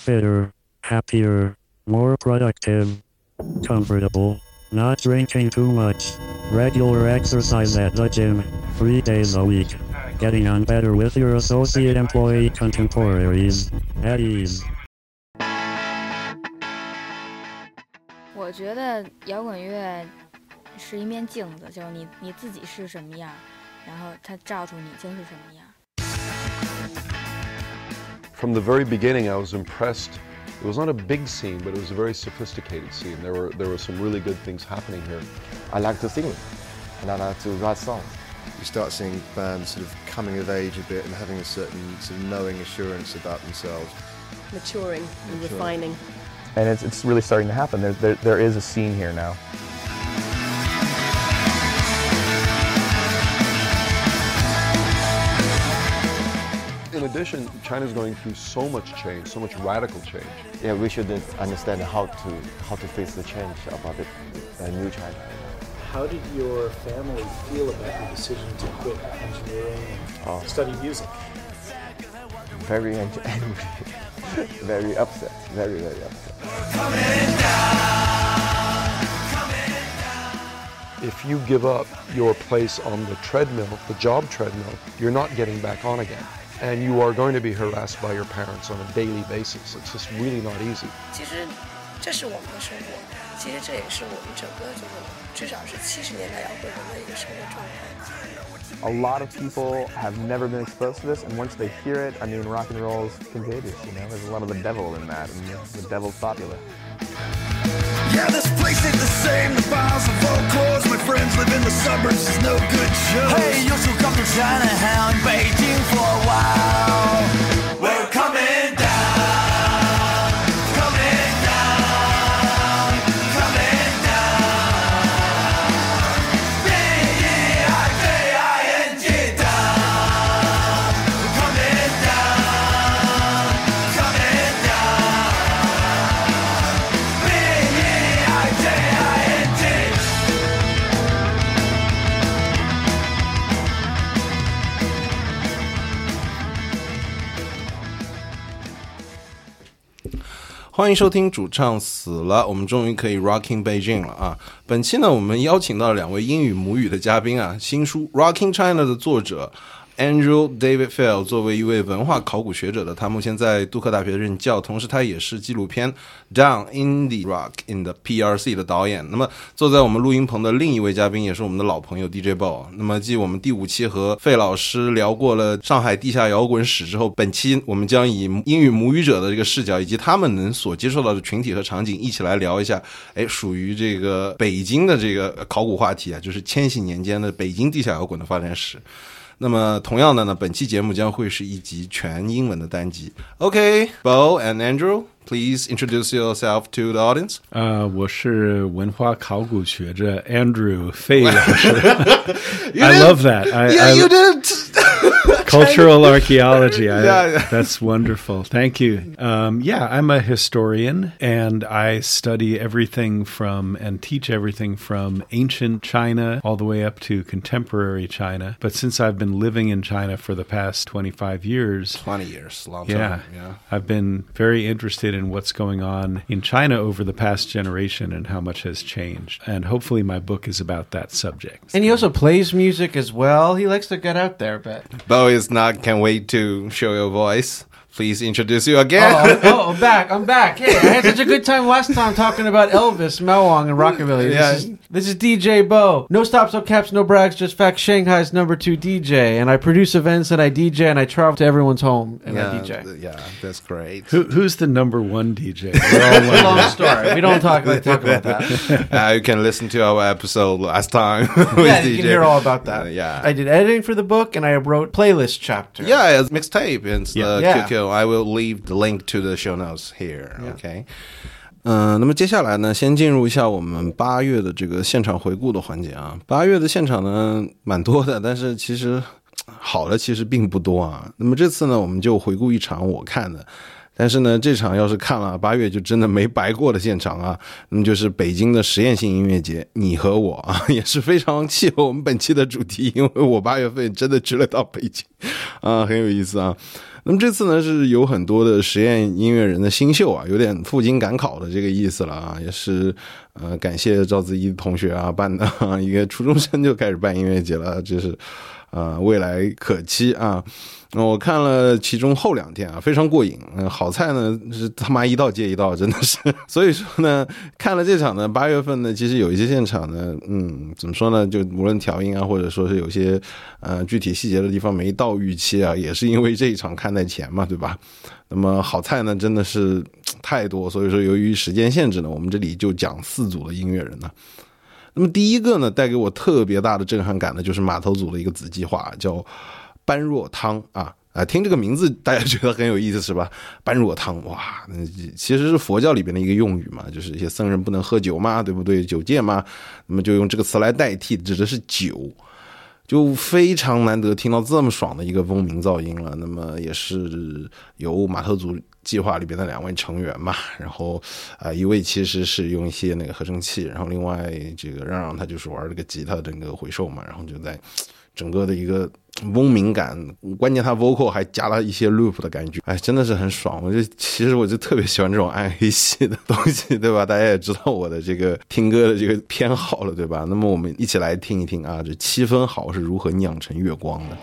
fitter, happier, more productive, comfortable, not drinking too much, regular exercise at the gym, 3 days a week, getting on better with your associate employee contemporaries, at ease. 我觉得摇滚乐是一面镜子，就是你自己是什么样，然后它照出你就是什么样。 From the very beginning, I was impressed. It was not a big scene, but it was a very sophisticated scene. There were some really good things happening here. I like to sing, and I like to write songs. You start seeing bands sort of coming of age a bit and having a certain sort of knowing assurance about themselves. Maturing and refining. And it's really starting to happen. There is a scene here now. In addition, China's going through so much change, so much radical change. Yeah, we should understand how to face the change about the new China. How did your family feel about your decision to quit engineering and study music? Very angry, very upset, very upset. If you give up your place on the treadmill, the job treadmill, you're not getting back on again. And you are going to be harassed by your parents on a daily basis. It's just really not easy. 其实这是我们的生活，其实这也是我们整个这个至少是70年代摇滚人的一个生活状态。 A lot of people have never been exposed to this, and once they hear it, I mean, rock and roll is contagious, you know? There's a lot of the devil in that, and the devil's popular. Yeah, this place ain't the same. The files of old clothes. My friends live in the suburbs. There's no good show. Hey, you should come to Chinatown, Beijing for a while. We're coming down, coming down, coming down. B-E-I-J-I-N-G down. We're coming down, coming down. B-E-I-J-I-N-G. 欢迎收听主唱死了，我们终于可以 Rocking Beijing 了啊！本期呢，我们邀请到了2位英语母语的嘉宾啊，新书 Rocking China 的作者Andrew David Fail 作为一位文化考古学者的他目前在杜克大学任教，同时他也是纪录片 Down Indie Rock in the PRC 的导演。那么坐在我们录音棚的另一位嘉宾也是我们的老朋友 DJ Bo。 那么继我们第5期和费老师聊过了上海地下摇滚史之后，本期我们将以英语母语者的这个视角以及他们能所接受到的群体和场景一起来聊一下属于这个北京的这个考古话题啊，就是千禧年间的北京地下摇滚的发展史。那么同样的呢，本期节目将会是一集全英文的单集。 OK, Bo and Andrew, please introduce yourself to the audience. 我是文化考古学者 Andrew 费老师。I love that. Yeah, you did. Cultural archaeology. Yeah. That's wonderful. Thank you. Yeah, I'm a historian, and I study everything from and teach everything from ancient China all the way up to contemporary China. But since I've been living in China for the past 25 years. 20 years, long time. Yeah. I've been very interested in what's going on in China over the past generation and how much has changed. And hopefully my book is about that subject. And he also plays music as well. He likes to get out there a bit. Bo is not, can't wait to show your voice. Please introduce you again. I'm back. Hey, I had such a good time last time talking about Elvis, Mawang, and Rockabilly. This is DJ Bo. No stops, no caps, no brags, just facts. Shanghai's #2 DJ. And I produce events and I DJ and I travel to everyone's home and I DJ. Yeah, that's great. Who's the #1 DJ? It's a long story. We don't talk about that. You can listen to our episode last time. With Yeah, DJ. you can hear all about that. Yeah. I did editing for the book and I wrote playlist chapter. Yeah, it's mixtape. It's Yeah. QQ. I will leave the link to the show notes here. Okay. 那么接下来呢，先进入一下我们8月的这个现场回顾的环节啊。8月的现场呢蛮多的，但是其实好的其实并不多啊。那么这次呢，我们就回顾一场我看的。但是呢，这场要是看了8月就真的没白过的现场啊，那么就是北京的实验性音乐节，你和我啊，也是非常契合我们本期的主题，因为我8月份真的去了到北京啊，很有意思啊。 那么这次呢是有很多的实验音乐人的新秀啊，有点赴京赶考的这个意思了啊，也是感谢赵子怡同学啊办的一个初中生就开始办音乐节了，这是未来可期啊。我看了其中后2天啊，非常过瘾。好菜呢是他妈一道接一道，真的是。所以说呢，看了这场呢，8月份呢，其实有一些现场呢，怎么说呢？就无论调音啊，或者说是有些具体细节的地方没到预期啊，也是因为这一场看在前嘛，对吧？那么好菜呢，真的是太多，所以说由于时间限制呢，我们这里就讲4组的音乐人呢。那么第一个呢，带给我特别大的震撼感的就是码头组的一个子计划，叫般若汤啊，听这个名字大家觉得很有意思是吧？般若汤，哇，其实是佛教里边的一个用语嘛，就是一些僧人不能喝酒嘛，对不对？酒戒嘛，那么就用这个词来代替，指的是酒。就非常难得听到这么爽的一个嗡鸣噪音了。那么也是由码头组计划里边的2位成员嘛，然后一位其实是用一些那个合成器，然后另外这个让他就是玩这个吉他整个回收嘛，然后就在整个的一个嗡鸣感，关键他 vocal 还加了一些 loop 的感觉，真的是很爽。其实我就特别喜欢这种暗黑系的东西，对吧？大家也知道我的这个听歌的这个偏好了，对吧？那么我们一起来听一听啊，这7分好是如何酿成月光的。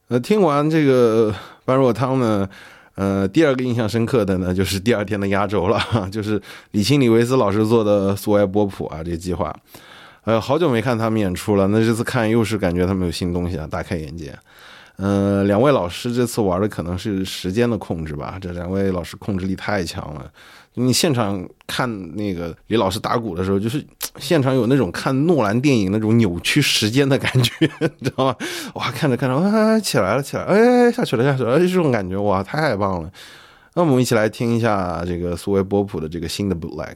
听完这个般若汤呢，第二个印象深刻的呢，就是第二天的压轴了，就是李钦李维斯老师做的苏维埃波普啊，这个计划。好久没看他们演出了，那这次看又是感觉他们有新东西啊，大开眼界。两位老师这次玩的可能是时间的控制吧，这两位老师控制力太强了。你现场看那个李老师打鼓的时候，就是现场有那种看诺兰电影那种扭曲时间的感觉，你知道吗？哇，看着看着，起来了，下去了，这种感觉哇，太棒了。那我们一起来听一下这个苏维波普的这个新的 bootleg。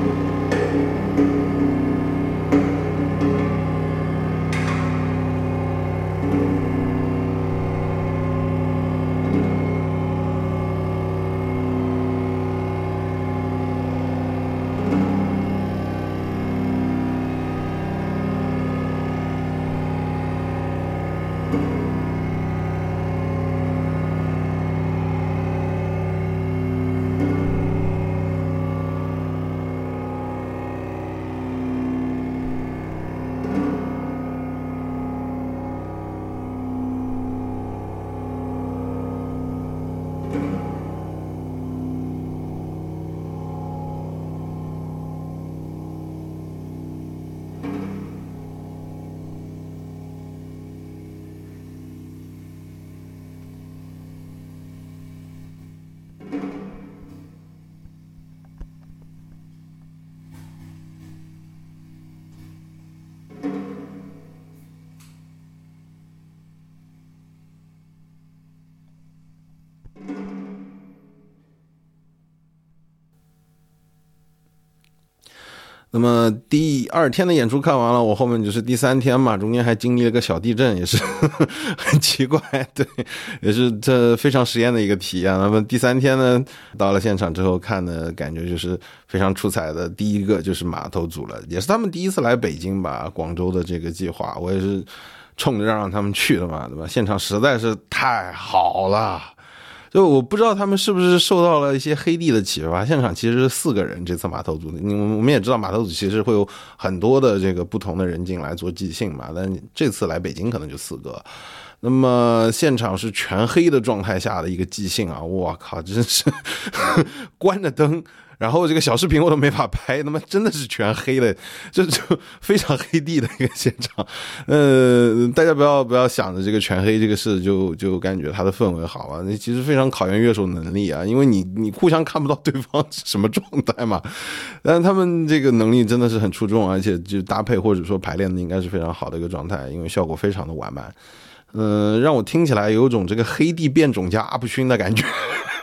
那么第2天的演出看完了，我后面就是第3天嘛，中间还经历了个小地震，也是很奇怪，对，也是这非常实验的一个体验。那么第3天呢，到了现场之后看的感觉就是非常出彩的。第一个就是码头组了，也是他们第一次来北京吧，广州的这个计划，我也是冲着让他们去的嘛，对吧？现场实在是太好了。就我不知道他们是不是受到了一些黑帝的启发，现场其实是4个人，这次码头组的，我们也知道码头组其实会有很多的这个不同的人进来做即兴嘛，但这次来北京可能就4个。那么现场是全黑的状态下的一个即兴啊，我靠，真是关着灯，然后这个小视频我都没法拍，那么真的是全黑的，就非常黑地的一个现场。大家不要想着这个全黑这个事就感觉它的氛围好啊，那其实非常考验乐手能力啊，因为你互相看不到对方是什么状态嘛。但是他们这个能力真的是很出众，而且就搭配或者说排练的应该是非常好的一个状态，因为效果非常的完满。让我听起来有种这个黑地变种加阿布勋的感觉，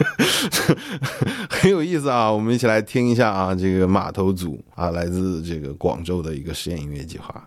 很有意思啊！我们一起来听一下啊，这个码头组啊，来自这个广州的一个实验音乐计划。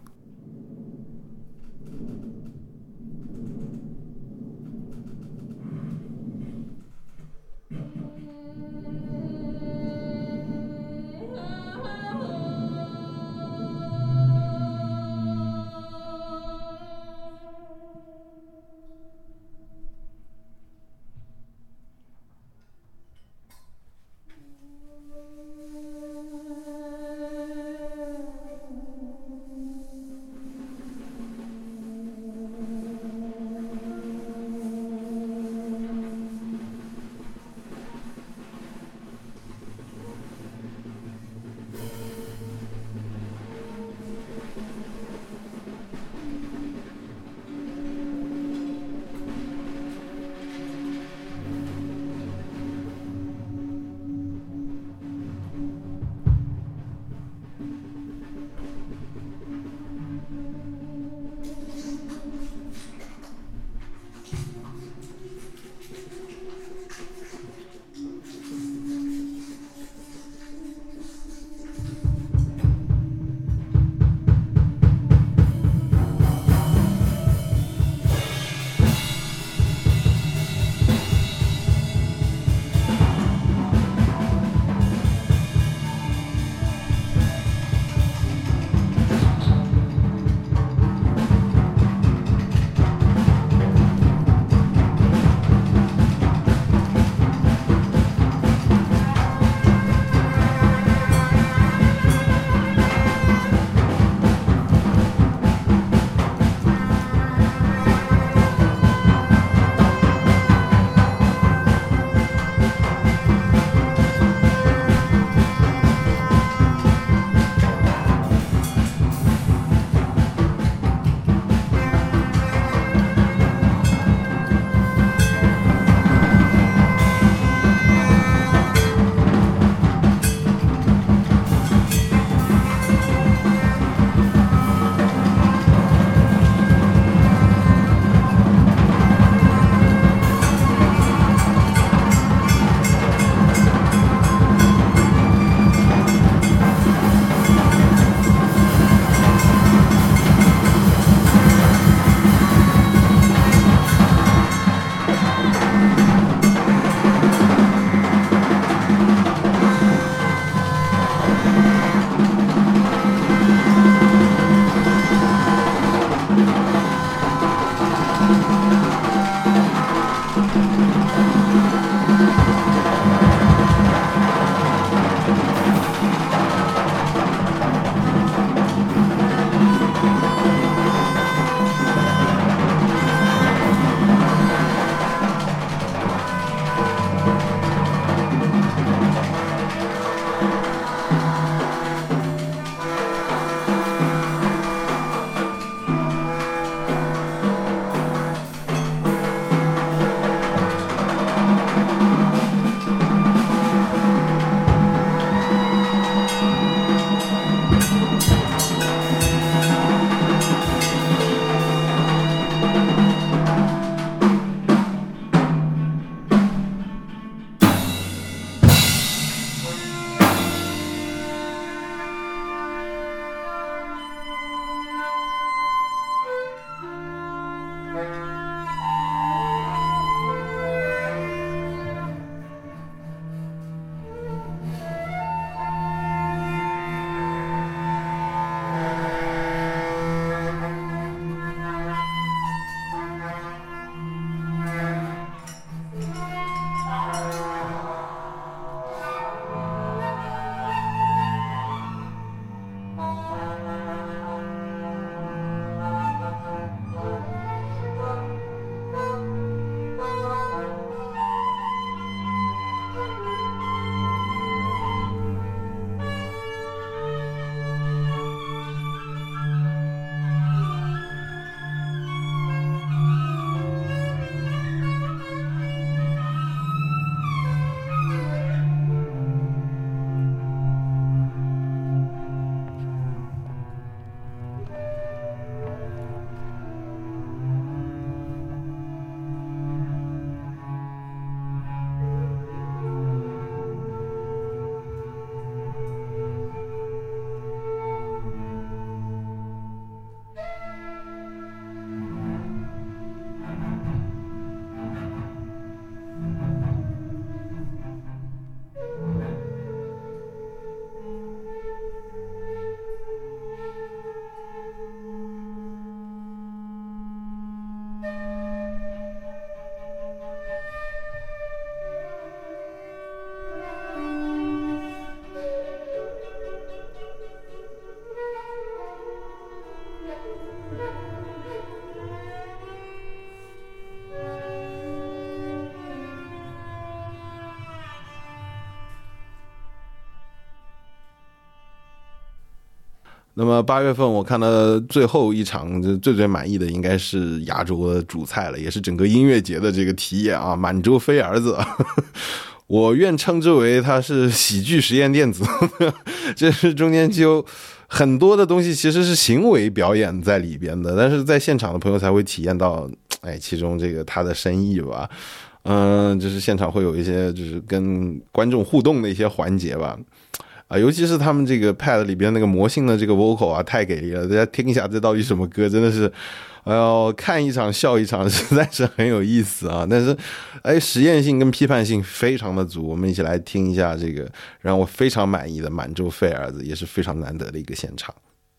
那么8月份我看的最后一场最满意的应该是压轴的主菜了，也是整个音乐节的这个题眼啊，满洲飞儿子。我愿称之为它是喜剧实验电子。这是中间就很多的东西其实是行为表演在里边的，但是在现场的朋友才会体验到其中这个它的深意吧。就是现场会有一些就是跟观众互动的一些环节吧。尤其是他们这个 pad 里边那个魔性的这个 vocal 啊，太给力了！大家听一下这到底什么歌，真的是，看一场笑一场，实在是很有意思啊！但是，实验性跟批判性非常的足。我们一起来听一下这个让我非常满意的满洲费儿子，也是非常难得的一个现场。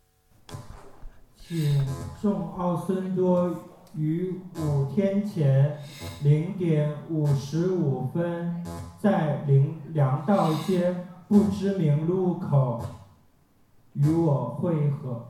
请众奥森多于5天前0点55分在粮道街不知名路口与我会合。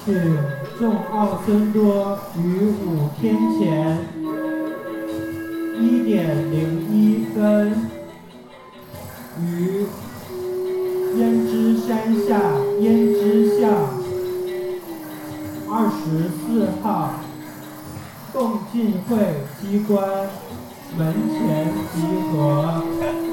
请众奥森多于5天前1:01分于胭脂山下胭脂巷24号共进会机关门前集合。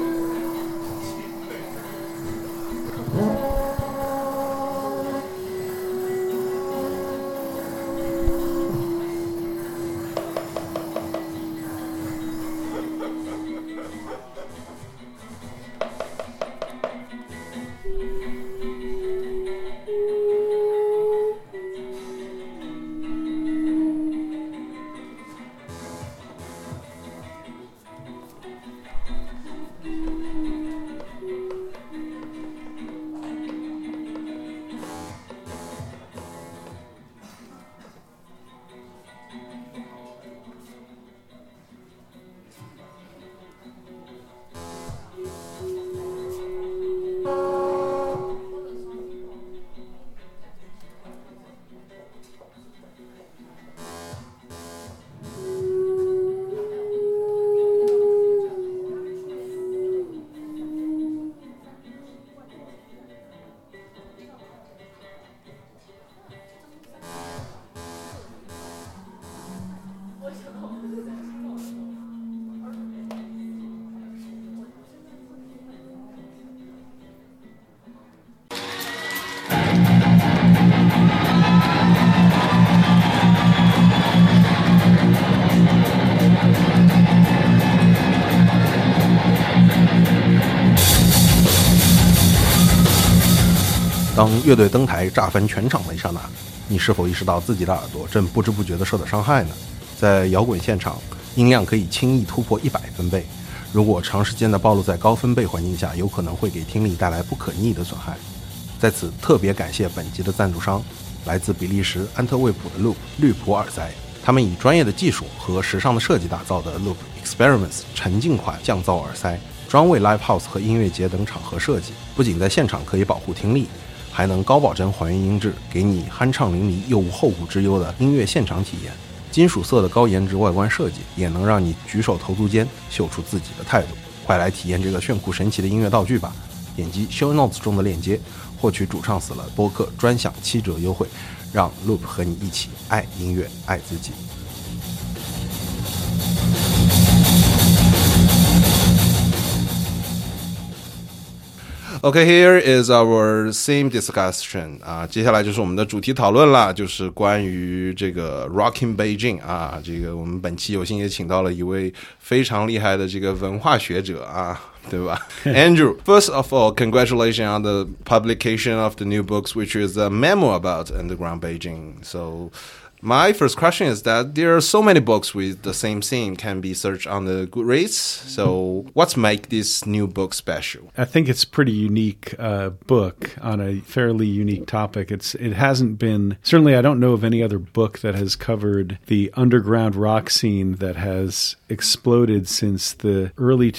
当乐队登台炸翻全场的一刹那，你是否意识到自己的耳朵正不知不觉地受到伤害呢？在摇滚现场，音量可以轻易突破100分贝，如果长时间的暴露在高分贝环境下，有可能会给听力带来不可逆的损害。在此特别感谢本集的赞助商，来自比利时安特卫普的 Loop 绿普耳塞，他们以专业的技术和时尚的设计打造的 Loop Experiments 沉浸款降噪耳塞，专为 Live House 和音乐节等场合设计，不仅在现场可以保护听力，还能高保真还原音质，给你酣畅淋漓又无后顾之忧的音乐现场体验。金属色的高颜值外观设计，也能让你举手投足间秀出自己的态度。快来体验这个炫酷神奇的音乐道具吧！点击 Show Notes 中的链接，获取主唱死了播客专享7折优惠，让 Loop 和你一起爱音乐，爱自己。Okay, here is our theme discussion 接下来就是我们的主题讨论啦，就是关于这个 Rocking Beijing 这个我们本期有幸也请到了一位非常厉害的这个文化学者对吧？Andrew, first of all, congratulations on the publication of the new books, which is a memoir about underground Beijing. So my first question is that there are so many books with the same theme can be searched on the Goodreads. So what's make this new book special? I think it's a pretty unique book on a fairly unique topic. It hasn't been, certainly I don't know of any other book that has covered the underground rock scene that has exploded since the early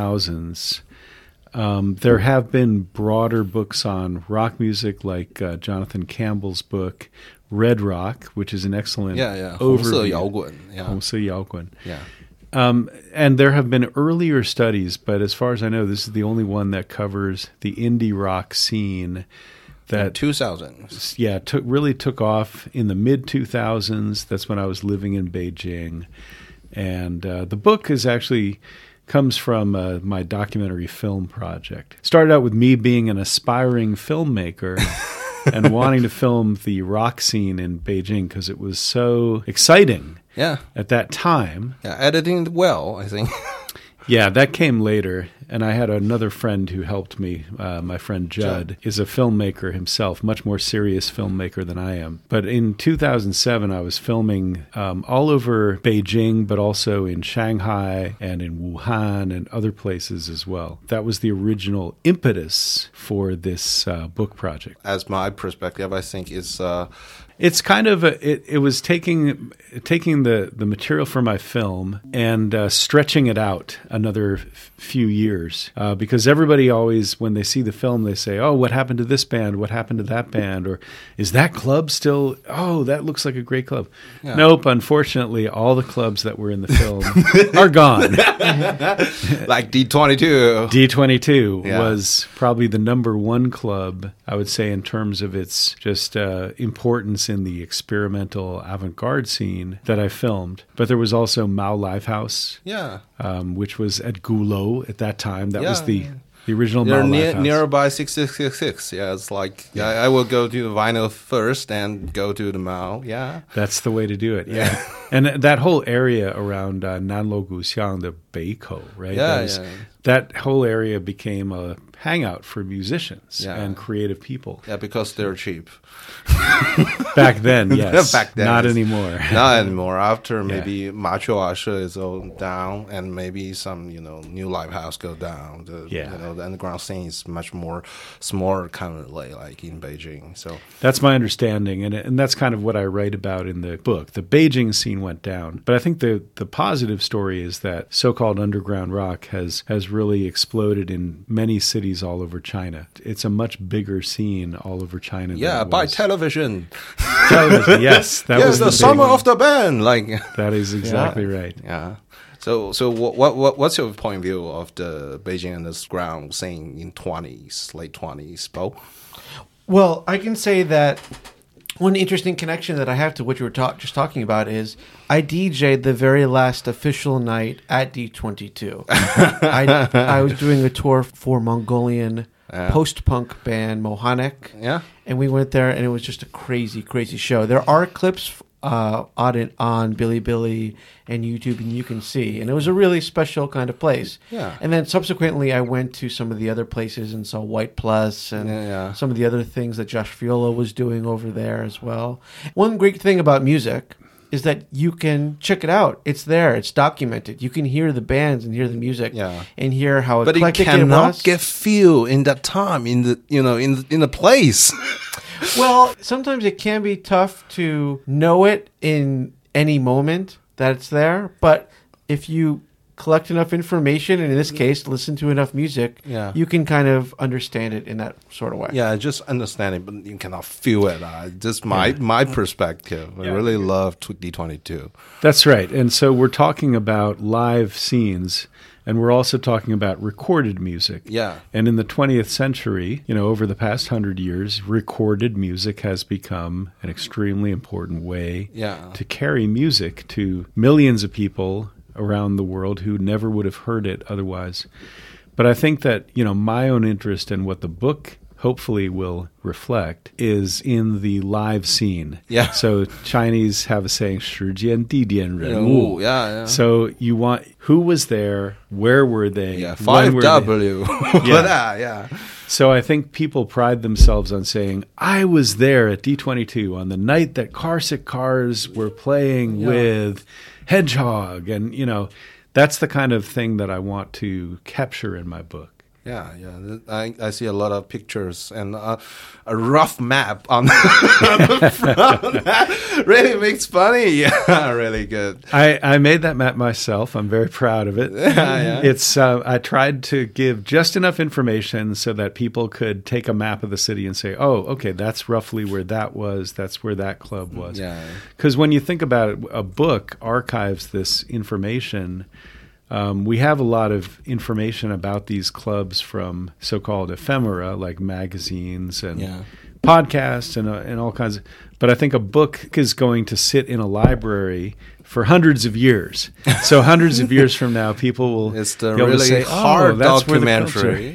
2000s. There have been broader books on rock music, like Jonathan Campbell's book, Red Rock, which is an excellent overview. 红色摇滚. 红色摇滚. Yeah. And there have been earlier studies, but as far as I know, this is the only one that covers the indie rock scene that 2000s. Yeah, really took off in the mid-2000s. That's when I was living in Beijing. And the book is actually comes from my documentary film project. Started out with me being an aspiring filmmaker and wanting to film the rock scene in Beijing because it was so exciting at that time. Yeah, editing it well, I think. Yeah, that came later. And I had another friend who helped me. My friend Judd is a filmmaker himself, much more serious filmmaker than I am. But in 2007, I was filming all over Beijing, but also in Shanghai and in Wuhan and other places as well. That was the original impetus for this book project. As my perspective, I think it's It's kind of it was taking the material for my film and stretching it out another few years because everybody always, when they see the film, they say, "Oh, what happened to this band? What happened to that band? Or is that club still? Oh, that looks like a great club." Yeah. Nope. Unfortunately, all the clubs that were in the film are gone. Like D22. D22 was probably the number one club, I would say, in terms of its just importance in the experimental avant-garde scene that I filmed. But there was also Mao Lifehouse, which was at Gulo at that time. That was the original Mao Lifehouse. Nearby 6666. Yeah, it's like I will go to the vinyl first and go to the Mao. Yeah, that's the way to do it. Yeah, and that whole area around Nanluo Guxiang, the Beikou, right? That whole area became a hangout for musicians and creative people. Yeah, because they're cheap. Back then, yes. Back then, not anymore. Not anymore. After maybe Macho Asha is all down, and maybe some new live house go down. The underground scene is much more smaller, kind of like in Beijing. So that's my understanding, and that's kind of what I write about in the book. The Beijing scene went down, but I think the positive story is that so-called underground rock has really exploded in many cities all over China. It's a much bigger scene all over China. By television. Television, yes. That was the summer of the band. Like that is exactly right. Yeah. So what's your point of view of the Beijing underground scene in late 20s, Bo? Well, I can say that one interesting connection that I have to what you were just talking about is I DJ'd the very last official night at D22. I was doing a tour for Mongolian post-punk band Mohanek. Yeah. And we went there, and it was just a crazy, crazy show. There are clips on Bilibili and YouTube, and you can see. And it was a really special kind of place. Yeah. And then subsequently, I went to some of the other places and saw White Plus and some of the other things that Josh Viola was doing over there as well. One great thing about music is that you can check it out. It's there. It's documented. You can hear the bands and hear the music and hear how eclectic it was. But it cannot get feel in that time in the in the place. Well, sometimes it can be tough to know it in any moment that it's there. But if you collect enough information, and in this case, listen to enough music, you can kind of understand it in that sort of way. Yeah, just understand it, but you cannot feel it. Just my perspective. I really love D22. That's right. And so we're talking about live scenes, and we're also talking about recorded music. Yeah. And in the 20th century, over the past 100 years, recorded music has become an extremely important way to carry music to millions of people around the world who never would have heard it otherwise. But I think that, my own interest in what the book hopefully will reflect is in the live scene. Yeah. So Chinese have a saying, 时间地点人物. Yeah. So you want, who was there? Where were they? Yeah, 5W. Yeah. So I think people pride themselves on saying, I was there at D22 on the night that Carsick Cars were playing with Hedgehog. And, that's the kind of thing that I want to capture in my book. Yeah. I see a lot of pictures and a rough map on the front. That really makes funny. Yeah, really good. I made that map myself. I'm very proud of it. Yeah. It's I tried to give just enough information so that people could take a map of the city and say, oh, okay, that's roughly where that was. That's where that club was. Yeah. Because when you think about it, a book archives this information. We have a lot of information about these clubs from so-called ephemera, like magazines and podcasts and all kinds of. But I think a book is going to sit in a library for hundreds of years. So hundreds of years from now, people will it's the be able really to say, hard that's documentary.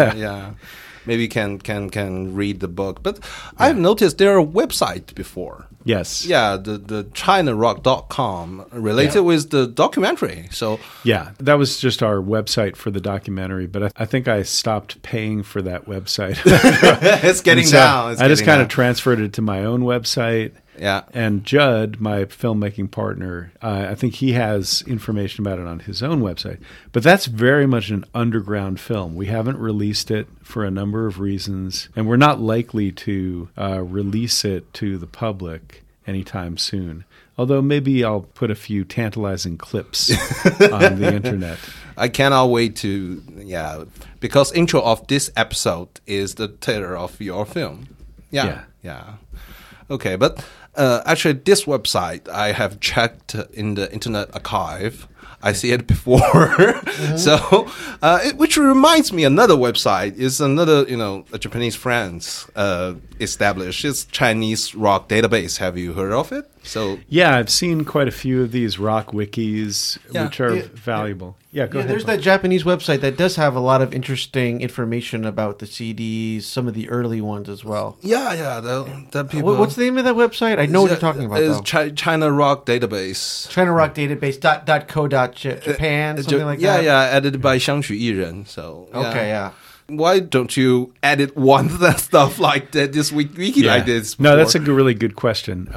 Yeah. Maybe can read the book. But I've noticed there are websites before. Yes. Yeah, the ChinaRock.com related with the documentary. So yeah, that was just our website for the documentary, but I think I stopped paying for that website. It's getting down. I just kind of transferred it to my own website. Yeah. And Judd, my filmmaking partner, I think he has information about it on his own website. But that's very much an underground film. We haven't released it for a number of reasons, and we're not likely to release it to the public anytime soon. Although maybe I'll put a few tantalizing clips on the internet. I cannot wait to, because intro of this episode is the trailer of your film. Yeah. Okay, but actually this website I have checked in the Internet Archive. I see it before. So, which reminds me, another website is another, a Japanese friends established. It's Chinese Rock Database. Have you heard of it? So yeah, I've seen quite a few of these rock wikis, which are valuable. Yeah, go ahead. There's that Japanese website that does have a lot of interesting information about the CDs, some of the early ones as well. Yeah, the people. What's the name of that website? I know what you're talking about. It's China Rock Database. China Rock Database .co.Japan, something like that. Yeah, edited by Xiangxu Yiren. So okay, yeah. Why don't you edit one stuff like that this wiki like this? Before? No, that's a really good question.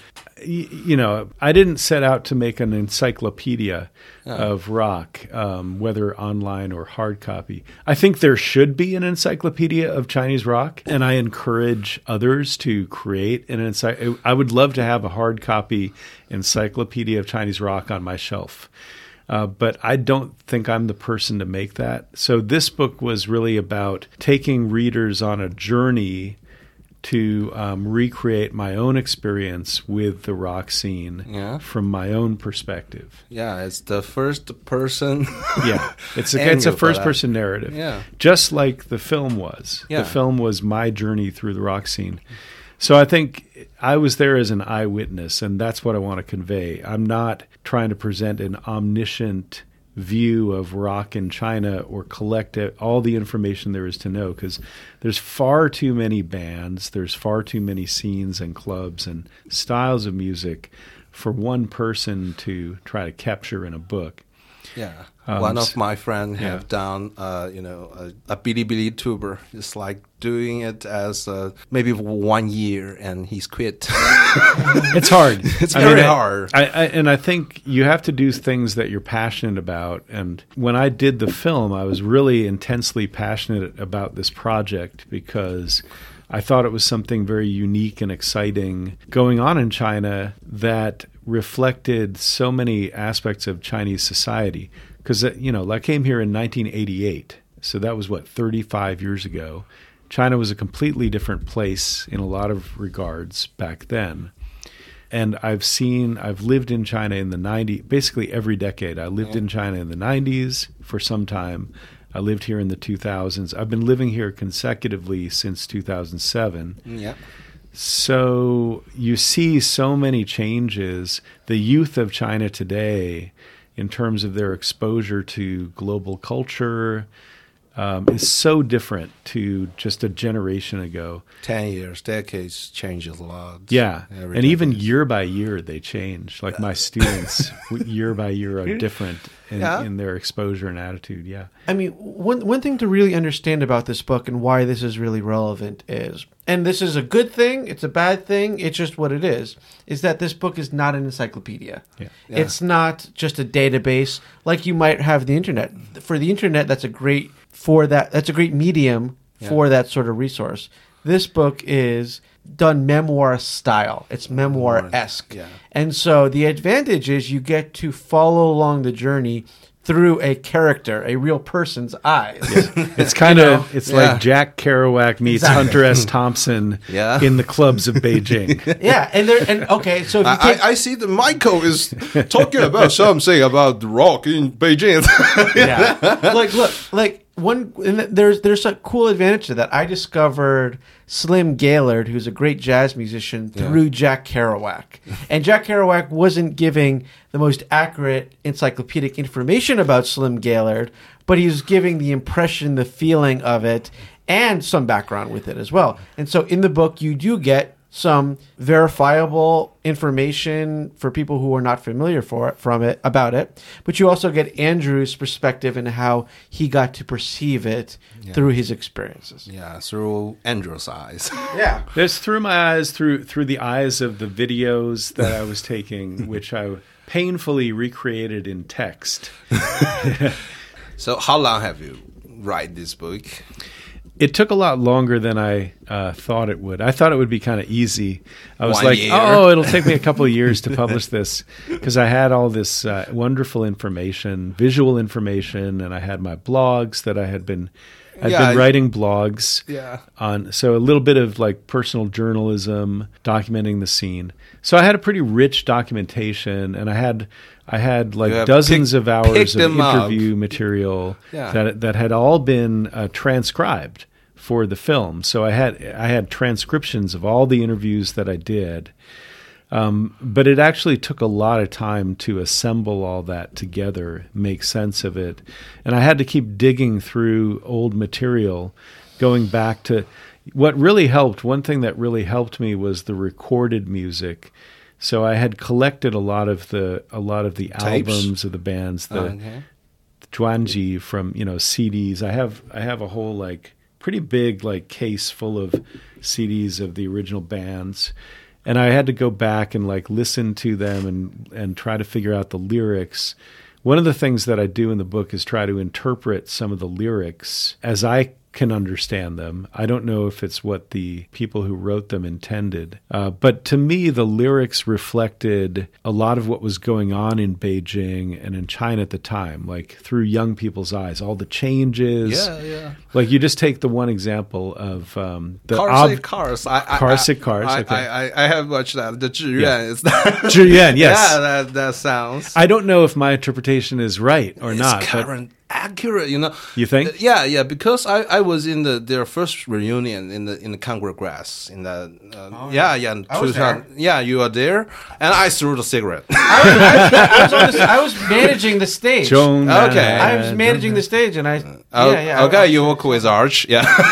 I didn't set out to make an encyclopedia of rock, whether online or hard copy. I think there should be an encyclopedia of Chinese rock, and I encourage others to create an encyclopedia. I would love to have a hard copy encyclopedia of Chinese rock on my shelf. But I don't think I'm the person to make that. So this book was really about taking readers on a journey to recreate my own experience with the rock scene from my own perspective. Yeah, it's the first person. It's a first person narrative. Yeah, just like the film was. Yeah. The film was my journey through the rock scene. So I think I was there as an eyewitness, and that's what I want to convey. I'm not trying to present an omniscient view of rock in China or collect all the information there is to know, because there's far too many bands, there's far too many scenes and clubs and styles of music for one person to try to capture in a book. Yeah. One of my friends have done, a Bilibili tuber. It's like doing it as maybe 1 year, and he's quit. It's hard. It's very hard. And I think you have to do things that you're passionate about. And when I did the film, I was really intensely passionate about this project because I thought it was something very unique and exciting going on in China that reflected so many aspects of Chinese society. Because, I came here in 1988, so that was, 35 years ago. China was a completely different place in a lot of regards back then. And I've lived in China in the 90s, basically every decade. I lived in China in the 90s for some time. I lived here in the 2000s. I've been living here consecutively since 2007. Yeah. So you see so many changes. The youth of China today, in terms of their exposure to global culture, is so different to just a generation ago. 10 years, decades changes a lot. Yeah, and even year by year they change. Like my students, year by year are different in their exposure and attitude. Yeah. I mean, one thing to really understand about this book and why this is really relevant is, and this is a good thing, it's a bad thing, it's just what it is that this book is not an encyclopedia. Yeah. It's not just a database like you might have the internet. For the internet, that's a great medium for that sort of resource. This book is done memoir style. It's memoir-esque. Yeah. And so the advantage is you get to follow along the journey through a character, a real person's eyes. Yeah. It's kind of, like Jack Kerouac meets Hunter S. Thompson in the clubs of Beijing. So if you I see that Michael is talking about something about rock in Beijing. There's a cool advantage to that. I discovered Slim Gaillard, who's a great jazz musician, through Jack Kerouac. And Jack Kerouac wasn't giving the most accurate encyclopedic information about Slim Gaillard, but he was giving the impression, the feeling of it, and some background with it as well. And so in the book, you do get some verifiable information for people who are not familiar about it, but you also get Andrew's perspective and how he got to perceive it through his experiences. Yeah, through Andrew's eyes. Yeah. There's through my eyes, through the eyes of the videos that I was taking, which I painfully recreated in text. So how long have you write this book? It took a lot longer than I thought it would. I thought it would be kind of easy. I was 1 like, year. oh, it'll take me a couple of years to publish this, because I had all this wonderful information, visual information, and I had my blogs that I'd been writing blogs on. So a little bit of like personal journalism, documenting the scene. So I had a pretty rich documentation, and I had like dozens of hours of interview material that had all been transcribed for the film. So I had transcriptions of all the interviews that I did. But it actually took a lot of time to assemble all that together, make sense of it. And I had to keep digging through old material, going back to what really helped. One thing that really helped me was the recorded music. So I had collected a lot of the albums of the bands, the Zhuangji from CDs. I have a whole like pretty big like case full of CDs of the original bands. And I had to go back and like listen to them and try to figure out the lyrics. One of the things that I do in the book is try to interpret some of the lyrics as I can understand them. I don't know if it's what the people who wrote them intended. But to me, the lyrics reflected a lot of what was going on in Beijing and in China at the time, like through young people's eyes, all the changes. Yeah. Like you just take the one example of the Cars. Cars. Okay. I have watched that. The 志愿 is that. 志愿, yes. Yeah, that sounds. I don't know if my interpretation is right or not. Current. Accurate, You think? Yeah, because I was in their first reunion in the Congress in the in 2000. Yeah, you were there, and I threw the cigarette. I was managing the stage. Okay, I was managing the stage, and okay, you work with Arch.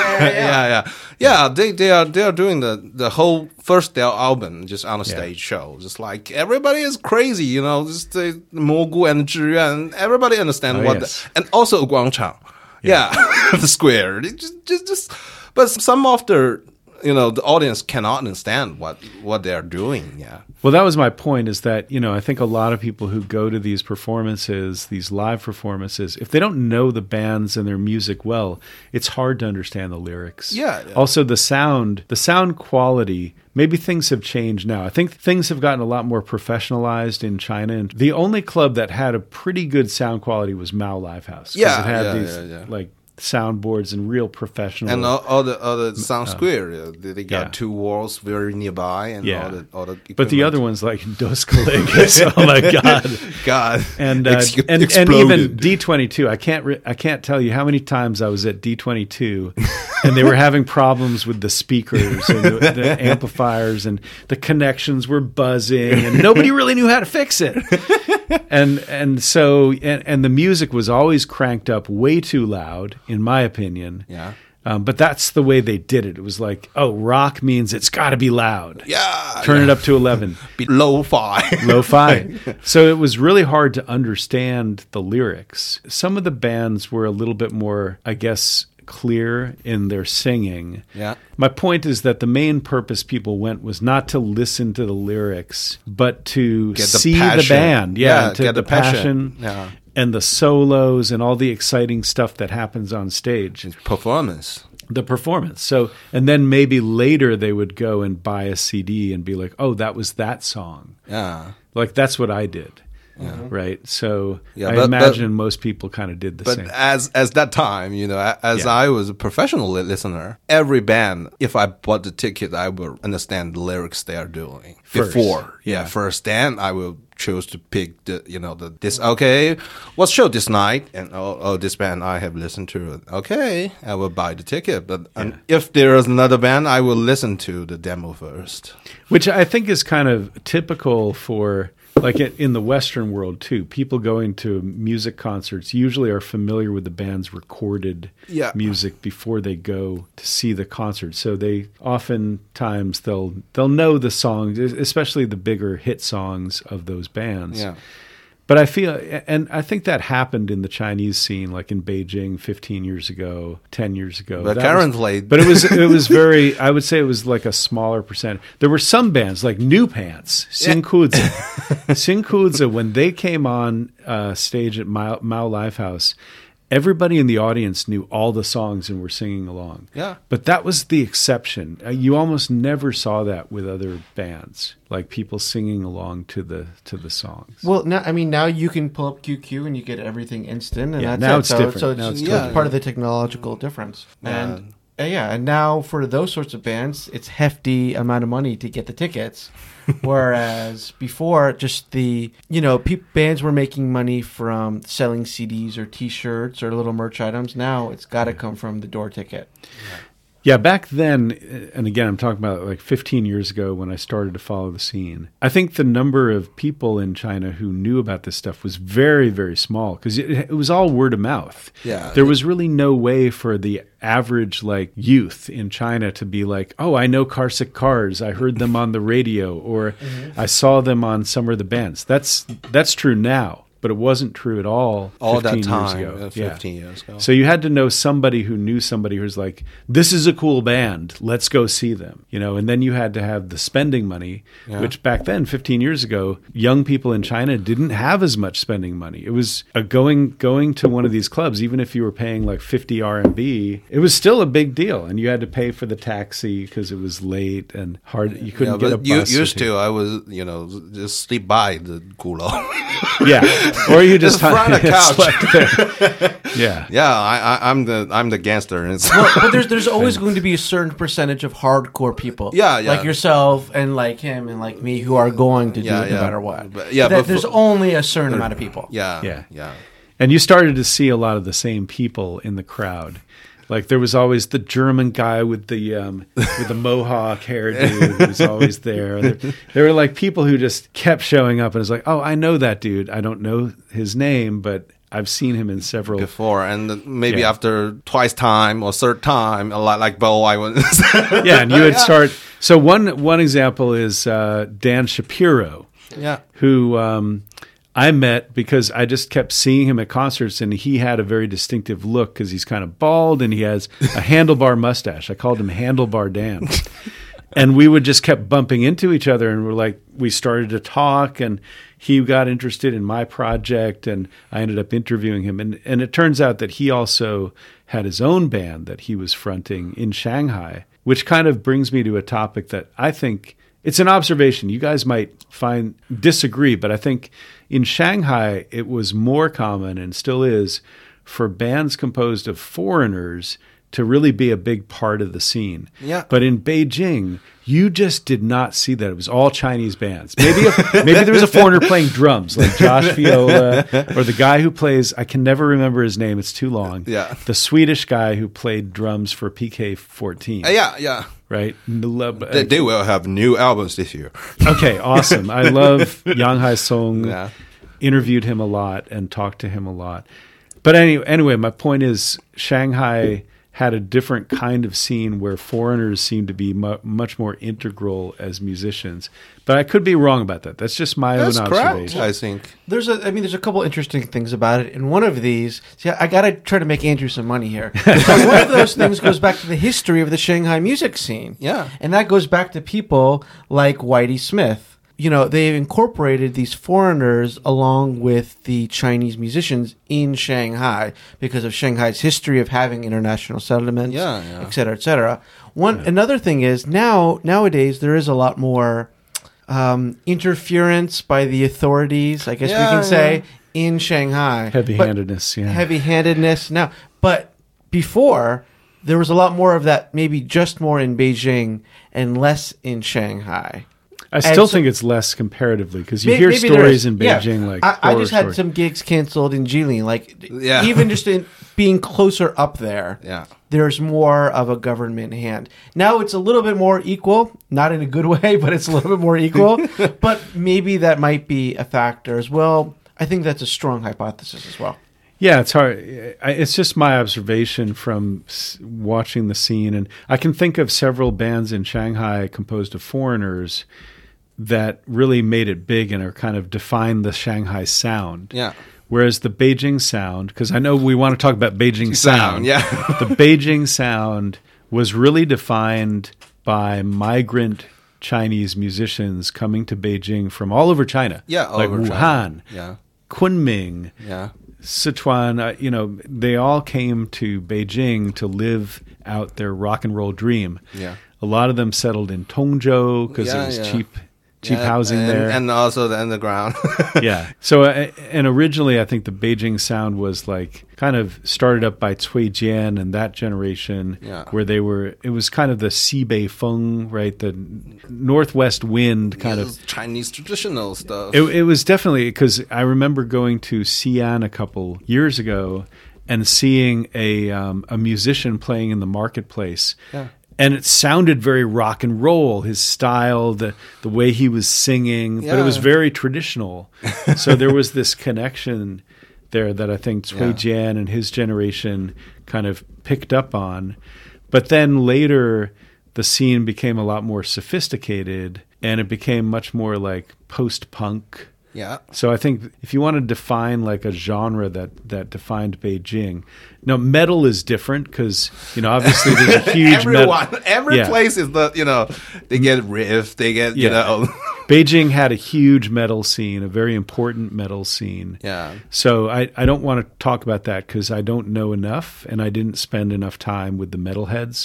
Yeah. They are doing the whole first their album just on a stage show. Just like everybody is crazy, just the Mogu and 志愿. Everybody understand and also 广场. Yeah. The square. Just but some of the the audience cannot understand what they are doing. Yeah. Well, that was my point, is that, I think a lot of people who go to these performances, these live performances, if they don't know the bands and their music well, it's hard to understand the lyrics. Yeah. Also, the sound quality, maybe things have changed now. I think things have gotten a lot more professionalized in China. And the only club that had a pretty good sound quality was Mao Livehouse. Yeah. It had these like soundboards and real professional, and all the sound square. They got two walls very nearby, and all the but the other ones like Dos Colegas, oh my god, and even D22. I can't tell you how many times I was at D22, and they were having problems with the speakers and the amplifiers, and the connections were buzzing, and nobody really knew how to fix it. And so the music was always cranked up way too loud, in my opinion. Yeah. But that's the way they did it. It was like, rock means it's got to be loud. Yeah. Turn it up to 11. Be lo-fi. Lo-fi. So it was really hard to understand the lyrics. Some of the bands were a little bit more, I guess, clear in their singing. Yeah. My point is that the main purpose people went was not to listen to the lyrics, but to see the band. Yeah, to get the passion. And the solos and all the exciting stuff that happens on stage. The performance. So, and then maybe later they would go and buy a CD and be like, oh, that was that song. Yeah. Like that's what I did. Yeah. Right. So I imagine most people kind of did the same. But as that time, I was a professional listener, every band, if I bought the ticket, I will understand the lyrics they are doing first. Then I will choose to pick what's show this night, and this band I have listened to. Okay, I will buy the ticket. But if there is another band, I will listen to the demo first. Which I think is kind of typical for like in the Western world too, people going to music concerts usually are familiar with the band's recorded music before they go to see the concert. So they oftentimes they'll know the songs, especially the bigger hit songs of those bands. Yeah. But I feel, and I think that happened in the Chinese scene, like in Beijing 15 years ago, 10 years ago. But currently... But it was very, I would say it was like a smaller percent. There were some bands, like New Pants, Xingkuzi. Xingkuzi, when they came on stage at Mao Lifehouse, everybody in the audience knew all the songs and were singing along. Yeah. But that was the exception. You almost never saw that with other bands, like people singing along to the songs. Well, now you can pull up QQ and you get everything instant, and now that's it's different. So now it's it's part of the technological difference. And and now for those sorts of bands, it's hefty amount of money to get the tickets. Whereas before, just bands were making money from selling CDs or T-shirts or little merch items. Now it's got to come from the door ticket. Yeah, back then, and again, I'm talking about like 15 years ago when I started to follow the scene. I think the number of people in China who knew about this stuff was very, very small because it was all word of mouth. Yeah. There was really no way for the average like youth in China to be like, oh, I know Carsick Cars. I heard them on the radio, or I saw them on some of the bands. That's true now. But it wasn't true at all 15 that years ago. 15 years ago. So you had to know somebody who knew somebody who was like, this is a cool band. Let's go see them. And then you had to have the spending money, which back then, 15 years ago, young people in China didn't have as much spending money. It was going to one of these clubs, even if you were paying like 50 RMB, it was still a big deal. And you had to pay for the taxi because it was late and hard. You couldn't get a bus. Used to, I was, just sleep by the Gulou. Yeah. Or you just on a couch. Yeah. I'm the gangster. But there's always going to be a certain percentage of hardcore people. Yeah. Like yourself and like him and like me who are going to do it no matter what. But there's only a certain amount of people. Yeah. And you started to see a lot of the same people in the crowd. Like there was always the German guy with the mohawk hairdo who was always there. There were like people who just kept showing up, and it's like, oh, I know that dude. I don't know his name, but I've seen him in several before, and maybe after twice time or third time, a lot like Bo, I was. And you would start. So one example is Dan Shapiro, who. I met because I just kept seeing him at concerts, and he had a very distinctive look because he's kind of bald and he has a handlebar mustache. I called him Handlebar Dan. And we would just kept bumping into each other, and we started to talk, and he got interested in my project, and I ended up interviewing him. And it turns out that he also had his own band that he was fronting in Shanghai, which kind of brings me to a topic that I think it's an observation. You guys might disagree, but I think in Shanghai, it was more common, and still is, for bands composed of foreigners to really be a big part of the scene. Yeah. But in Beijing, you just did not see that. It was all Chinese bands. Maybe there was a foreigner playing drums, like Josh Viola, or the guy who plays, I can never remember his name, it's too long. Yeah. The Swedish guy who played drums for PK-14. Yeah. Right? They will have new albums this year. Okay, awesome. I love Yang Hai Song. Yeah. Interviewed him a lot and talked to him a lot. But anyway, my point is Shanghai had a different kind of scene where foreigners seemed to be much more integral as musicians. But I could be wrong about that. That's just my own observation. Correct, I think. There's a couple interesting things about it. And one of these, I got to try to make Andrew some money here. So one of those things goes back to the history of the Shanghai music scene. Yeah. And that goes back to people like Whitey Smith. They've incorporated these foreigners along with the Chinese musicians in Shanghai because of Shanghai's history of having international settlements, et cetera, et cetera. Another thing is nowadays there is a lot more interference by the authorities, I guess we can say, in Shanghai. Heavy-handedness now. But before, there was a lot more of that, maybe just more in Beijing and less in Shanghai. I still think it's less comparatively because you hear maybe stories there in is. Yeah. Beijing like I just had horror some gigs canceled in Jilin. Like Yeah. even just in being closer up there, Yeah. there's more of a government hand. Now it's a little bit more equal, not in a good way, but it's a little bit more equal. But maybe that might be a factor as well. I think that's a strong hypothesis as well. Yeah, it's hard. It's just my observation from watching the scene. And I can think of several bands in Shanghai composed of foreigners that really made it big and are kind of defined the Shanghai sound. Yeah. Whereas the Beijing sound, because I know we want to talk about Beijing sound. Yeah. The Beijing sound was really defined by migrant Chinese musicians coming to Beijing from all over China. Yeah, all like over Wuhan, China. Yeah. Kunming, Yeah. Sichuan, they all came to Beijing to live out their rock and roll dream. Yeah. A lot of them settled in Tongzhou because it was cheap housing there. And also the underground. Yeah. So, and originally I think the Beijing sound was like kind of started up by Cui Jian and that generation where it was kind of the Xibei Feng, right? The northwest wind kind of. Chinese traditional stuff. It was definitely, because I remember going to Xi'an a couple years ago and seeing a musician playing in the marketplace. Yeah. And it sounded very rock and roll, his style, the way he was singing, but it was very traditional. So there was this connection there that I think Cui Jian and his generation kind of picked up on. But then later, the scene became a lot more sophisticated, and it became much more like post-punk. Yeah. So I think if you want to define like a genre that defined Beijing, now metal is different because obviously there's a huge every place is they get riff, they get Beijing had a huge metal scene, a very important metal scene. Yeah. So I don't want to talk about that because I don't know enough and I didn't spend enough time with the metalheads.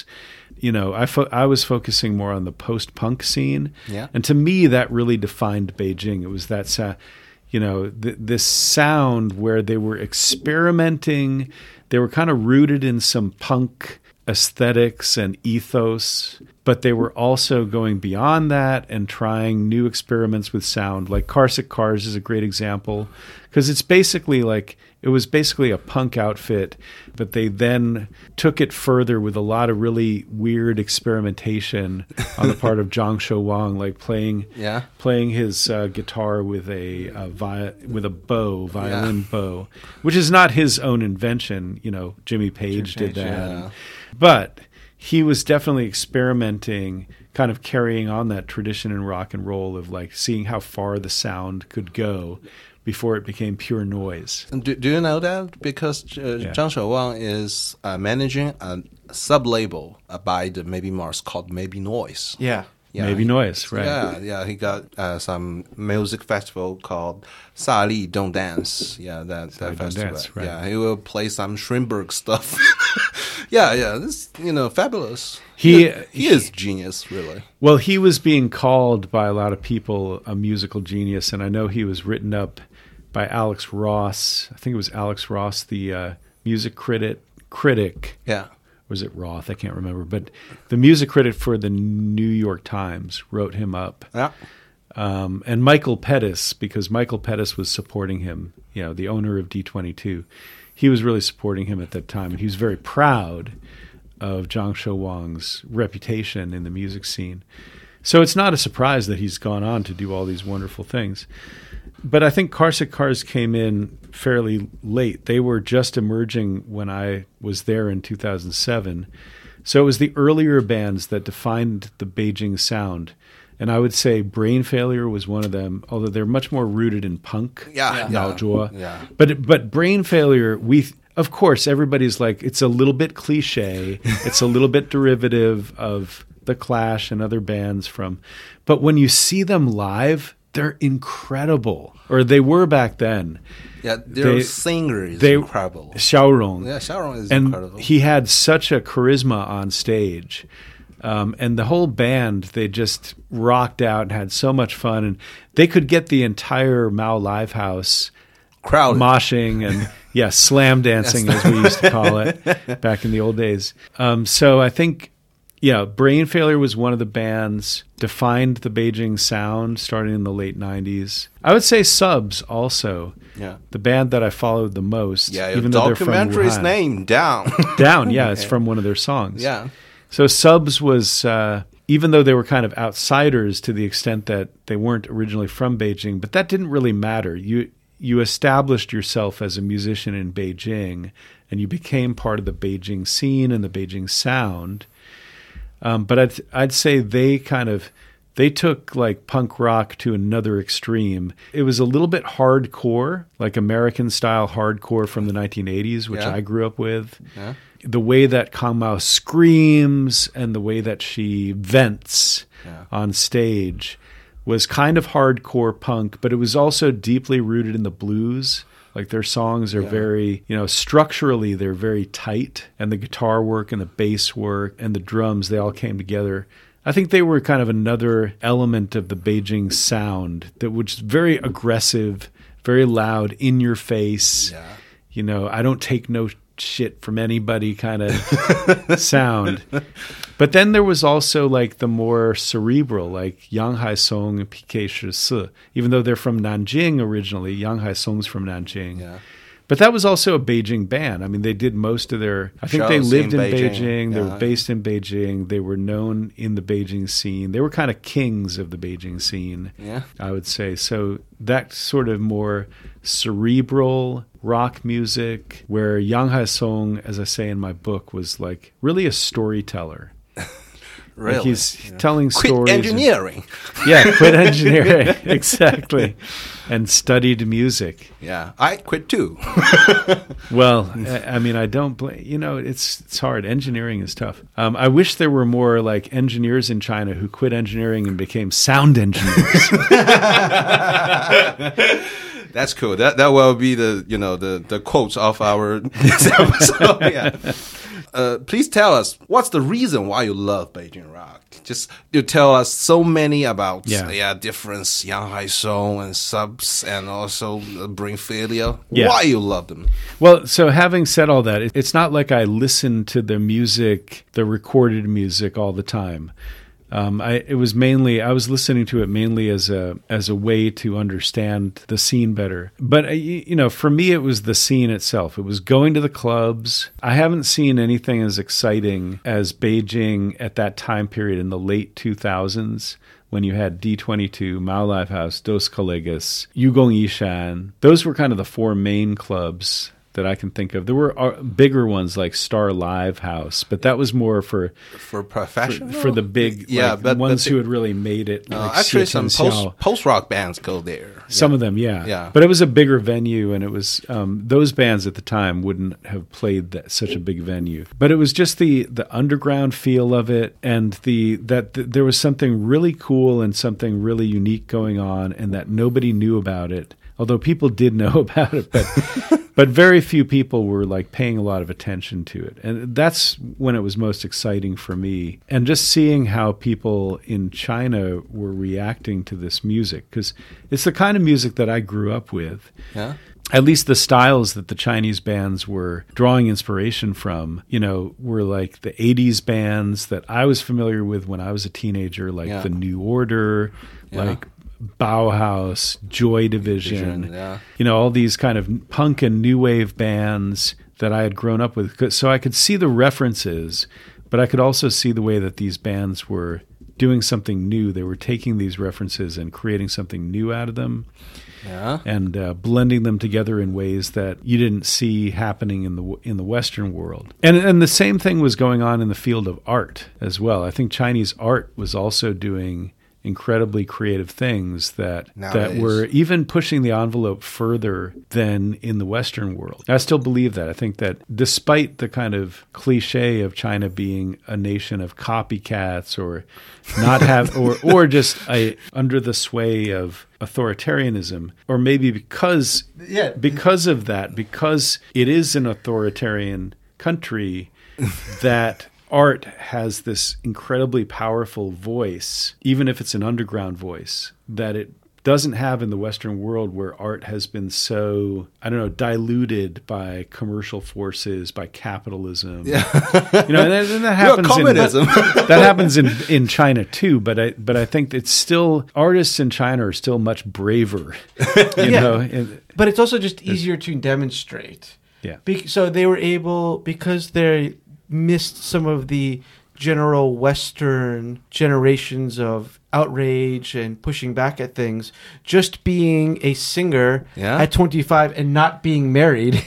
I was focusing more on the post-punk scene. Yeah. And to me, that really defined Beijing. It was that, this sound where they were experimenting. They were kind of rooted in some punk aesthetics and ethos, but they were also going beyond that and trying new experiments with sound. Like Carsick Cars is a great example because it was basically a punk outfit, but they then took it further with a lot of really weird experimentation on the part of Zhang Shouwang, like playing his guitar with a violin bow, which is not his own invention. Jimmy Page did that. Yeah. But he was definitely experimenting, kind of carrying on that tradition in rock and roll of like seeing how far the sound could go before it became pure noise. Do you know that? Because Zhang Shouwang is managing a sub-label by the Maybe Mars called Maybe Noise. Yeah. Maybe Noise, right. Yeah. He got some music festival called Sa Li Don't Dance. Yeah, that festival. Dance, right. Yeah, he will play some Schönberg stuff. Yeah, this fabulous. He is genius, really. Well, he was being called by a lot of people a musical genius, and I know he was written up by Alex Ross. I think it was Alex Ross, the music critic. Yeah. Was it Roth? I can't remember. But the music critic for the New York Times wrote him up. Yeah. And Michael Pettis, because Michael Pettis was supporting him, the owner of D22. He was really supporting him at that time. And he was very proud of Zhang Shouwang's reputation in the music scene. So it's not a surprise that he's gone on to do all these wonderful things. But I think Carsick Cars came in fairly late. They were just emerging when I was there in 2007. So it was the earlier bands that defined the Beijing sound. And I would say Brain Failure was one of them, although they're much more rooted in punk. Yeah. But Brain Failure, of course, everybody's like, it's a little bit cliche. It's a little bit derivative of The Clash and other bands but when you see them live, they're incredible, or they were back then. Yeah, their singer is incredible. Xiaorong. Yeah, Xiaorong is incredible. He had such a charisma on stage. And the whole band, they just rocked out and had so much fun. And they could get the entire Mao Live House crowd moshing and, slam dancing, as we used to call it back in the old days. So I think Yeah, Brain Failure was one of the bands, defined the Beijing sound starting in the late 90s. I would say Subs also. Yeah. The band that I followed the most. Yeah, your even though they're from documentary's Wuhan. name, Down. Down, yeah, it's from one of their songs. Yeah. So Subs was, even though they were kind of outsiders to the extent that they weren't originally from Beijing, but that didn't really matter. You established yourself as a musician in Beijing, and you became part of the Beijing scene and the Beijing sound. But I'd say they took like punk rock to another extreme. It was a little bit hardcore, like American style hardcore from the 1980s, which I grew up with. Yeah. The way that Kang Mao screams and the way that she vents on stage was kind of hardcore punk, but it was also deeply rooted in the blues. Like their songs are very, structurally they're very tight, and the guitar work and the bass work and the drums, they all came together. I think they were kind of another element of the Beijing sound that was very aggressive, very loud, in your face. Yeah. I don't take no shit from anybody kind of sound. But then there was also like the more cerebral, like Yang Haisong and PK Shisi. Even though they're from Nanjing originally, Yang Haisong's from Nanjing. Yeah. But that was also a Beijing band. I mean, they did most of their... I think they lived in Beijing. They were based in Beijing. They were known in the Beijing scene. They were kind of kings of the Beijing scene, I would say. So that sort of more cerebral rock music, where Yang Haisong, as I say in my book, was like really a storyteller. Really? Like he's telling stories. Quit engineering. Quit engineering. Exactly. And studied music. Yeah, I quit too. Well, I mean, I don't blame. It's hard. Engineering is tough. I wish there were more like engineers in China who quit engineering and became sound engineers. That's cool. That will be the quotes of our next episode. Yeah. Please tell us, what's the reason why you love Beijing rock? Just you tell us so many about difference, Yang Haisong and Subs, and also Brain Failure. Yeah. Why you love them? Well, so having said all that, it's not like I listen to the music, the recorded music all the time. I was listening to it mainly as a way to understand the scene better. But for me, it was the scene itself. It was going to the clubs. I haven't seen anything as exciting as Beijing at that time period in the late 2000s, when you had D22, Mao Livehouse, Dos Colegas, Yugong Yishan. Those were kind of the four main clubs that I can think of. There were bigger ones like Star Live House, but that was more for professional, for the big, but ones who had really made it. Like actually, some post rock bands go there. Some of them, yeah. But it was a bigger venue, and it was those bands at the time wouldn't have played such a big venue. But it was just the underground feel of it, and that there was something really cool and something really unique going on, and that nobody knew about it. Although people did know about it, but very few people were like paying a lot of attention to it. And that's when it was most exciting for me. And just seeing how people in China were reacting to this music, because it's the kind of music that I grew up with. Yeah. At least the styles that the Chinese bands were drawing inspiration from, were like the 80s bands that I was familiar with when I was a teenager, like the New Order, like Bauhaus, Joy Division, all these kind of punk and new wave bands that I had grown up with. So I could see the references, but I could also see the way that these bands were doing something new. They were taking these references and creating something new out of them. Yeah. And blending them together in ways that you didn't see happening in the Western world. And the same thing was going on in the field of art as well. I think Chinese art was also doing incredibly creative things that were even pushing the envelope further than in the Western world. I still believe that. I think that despite the kind of cliche of China being a nation of copycats or not have or just under the sway of authoritarianism, or maybe because of that, because it is an authoritarian country, that art has this incredibly powerful voice, even if it's an underground voice, that it doesn't have in the Western world, where art has been so, I don't know, diluted by commercial forces, by capitalism. Yeah. You know, and that happens communism. that happens in China too, but I think it's still, artists in China are still much braver. You know, but it's also just easier to demonstrate. Yeah. So they were able, because they missed some of the general Western generations of outrage and pushing back at things, just being a singer at 25 and not being married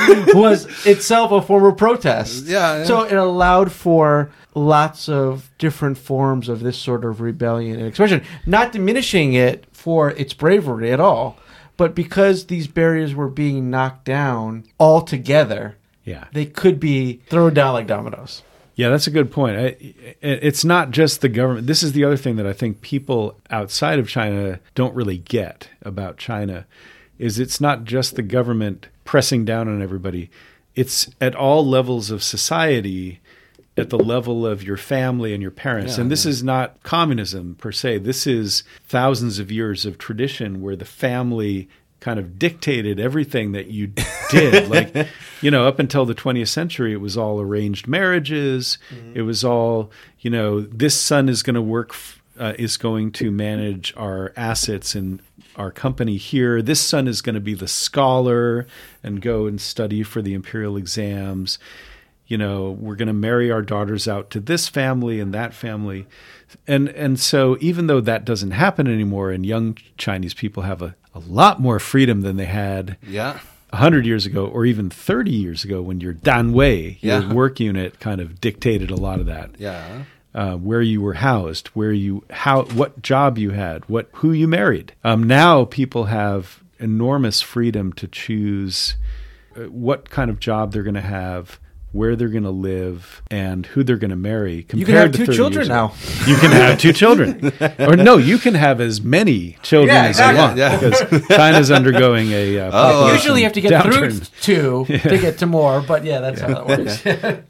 was itself a form of protest. Yeah. So it allowed for lots of different forms of this sort of rebellion and expression, not diminishing it for its bravery at all, but because these barriers were being knocked down altogether, they could be thrown down like dominoes. Yeah, that's a good point. It's not just the government. This is the other thing that I think people outside of China don't really get about China, is it's not just the government pressing down on everybody. It's at all levels of society, at the level of your family and your parents. And this is not communism per se. This is thousands of years of tradition where the family kind of dictated everything that you did. Like, you know, up until the 20th century, it was all arranged marriages. It was all, you know, this son is going to work, is going to manage our assets in our company here. This son is going to be the scholar and go and study for the imperial exams. You know, we're going to marry our daughters out to this family and that family. And so even though that doesn't happen anymore, and young Chinese people have a lot more freedom than they had 100 years ago, or even 30 years ago, when your danwei, your work unit, kind of dictated a lot of that. Where you were housed, what job you had, who you married. Now people have enormous freedom to choose what kind of job they're going to have, where they're going to live, and who they're going to marry. You can have 2 children now. You can have 2 children. Or no, you can have as many children as you want. Because China's undergoing a usually you have to get downturn. through 2 to get to more, but that's how that works.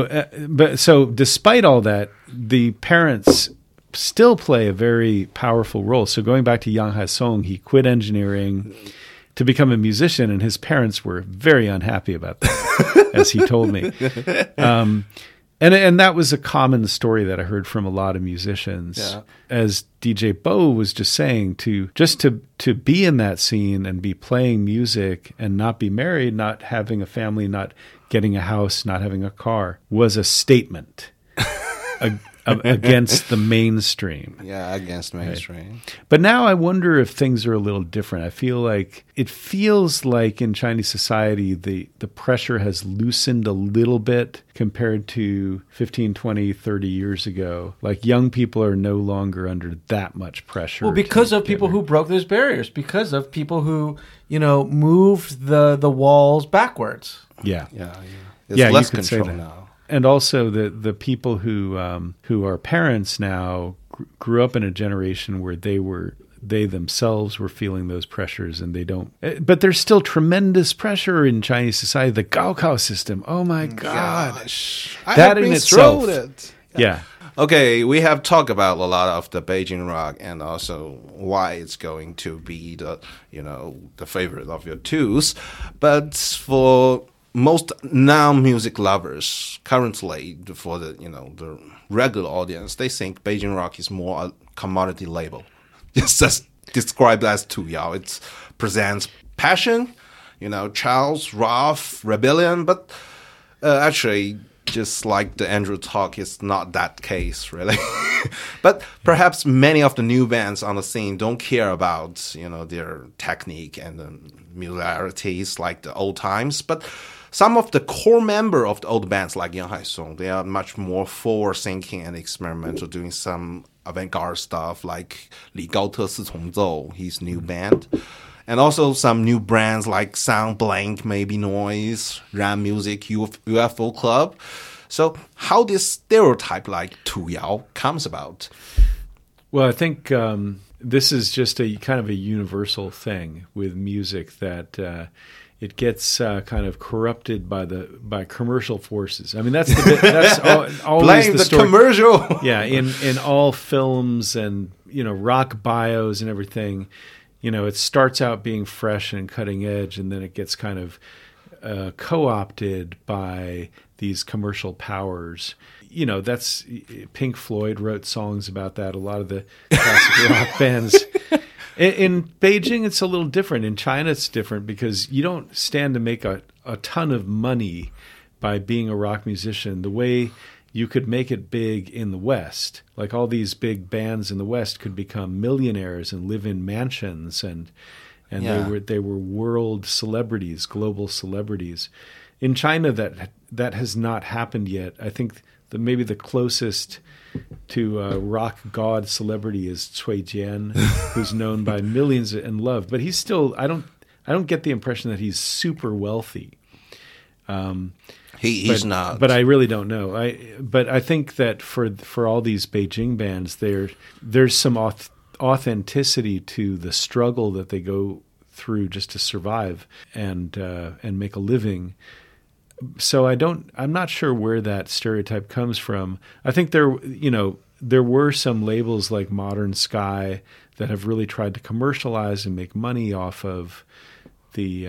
So despite all that, the parents still play a very powerful role. So going back to Yang Haisong, he quit engineering to become a musician, and his parents were very unhappy about that, as he told me. And that was a common story that I heard from a lot of musicians. As DJ Bo was just saying, to be in that scene and be playing music and not be married, not having a family, not getting a house, not having a car, was a statement against the mainstream. Against mainstream. Right. But now I wonder if things are a little different. I feel like in Chinese society, the pressure has loosened a little bit compared to 15, 20, 30 years ago. Like, young people are no longer under that much pressure. Well, because of people who broke those barriers, because of people who, moved the walls backwards. There's less control now. And also the people who are parents now grew up in a generation where they themselves were feeling those pressures, and they don't. But there's still tremendous pressure in Chinese society. The Gaokao system. Oh my gosh, that in itself. Okay, we have talked about a lot of the Beijing rock, and also why it's going to be the favorite of your twos. But for most non-music lovers currently, for the regular audience, they think Beijing rock is more a commodity label. It's just described as 2Yao. It presents passion, Charles, rough, rebellion, but actually, just like the Andrew talk, it's not that case, really. But perhaps many of the new bands on the scene don't care about, their technique and the musicalities like the old times, but some of the core members of the old bands like Yang Haisong, they are much more forward-thinking and experimental, doing some avant-garde stuff like Li Gaote Si Cong Zou, his new band. And also some new brands like Sound Blank, Maybe Noise, Ram Music, UFO Club. So how this stereotype like 2Yao comes about? Well, I think this is just a kind of a universal thing with music, that it gets kind of corrupted by commercial forces. I mean, that's always blame the story. Commercial. In all films and rock bios and everything, it starts out being fresh and cutting edge, and then it gets kind of co-opted by these commercial powers. That's Pink Floyd wrote songs about that. A lot of the classic rock bands. In Beijing, it's a little different. In China, it's different because you don't stand to make a ton of money by being a rock musician the way you could make it big in the West. Like all these big bands in the West could become millionaires and live in mansions, and they were world celebrities, global celebrities. In China, that has not happened yet. I think maybe the closest to rock god celebrity is Cui Jian, who's known by millions and loved. But he's still, I don't get the impression that he's super wealthy. He's not. But I really don't know. I think that for all these Beijing bands, there's some authenticity to the struggle that they go through just to survive and make a living. So I'm not sure where that stereotype comes from. I think there were some labels like Modern Sky that have really tried to commercialize and make money off of the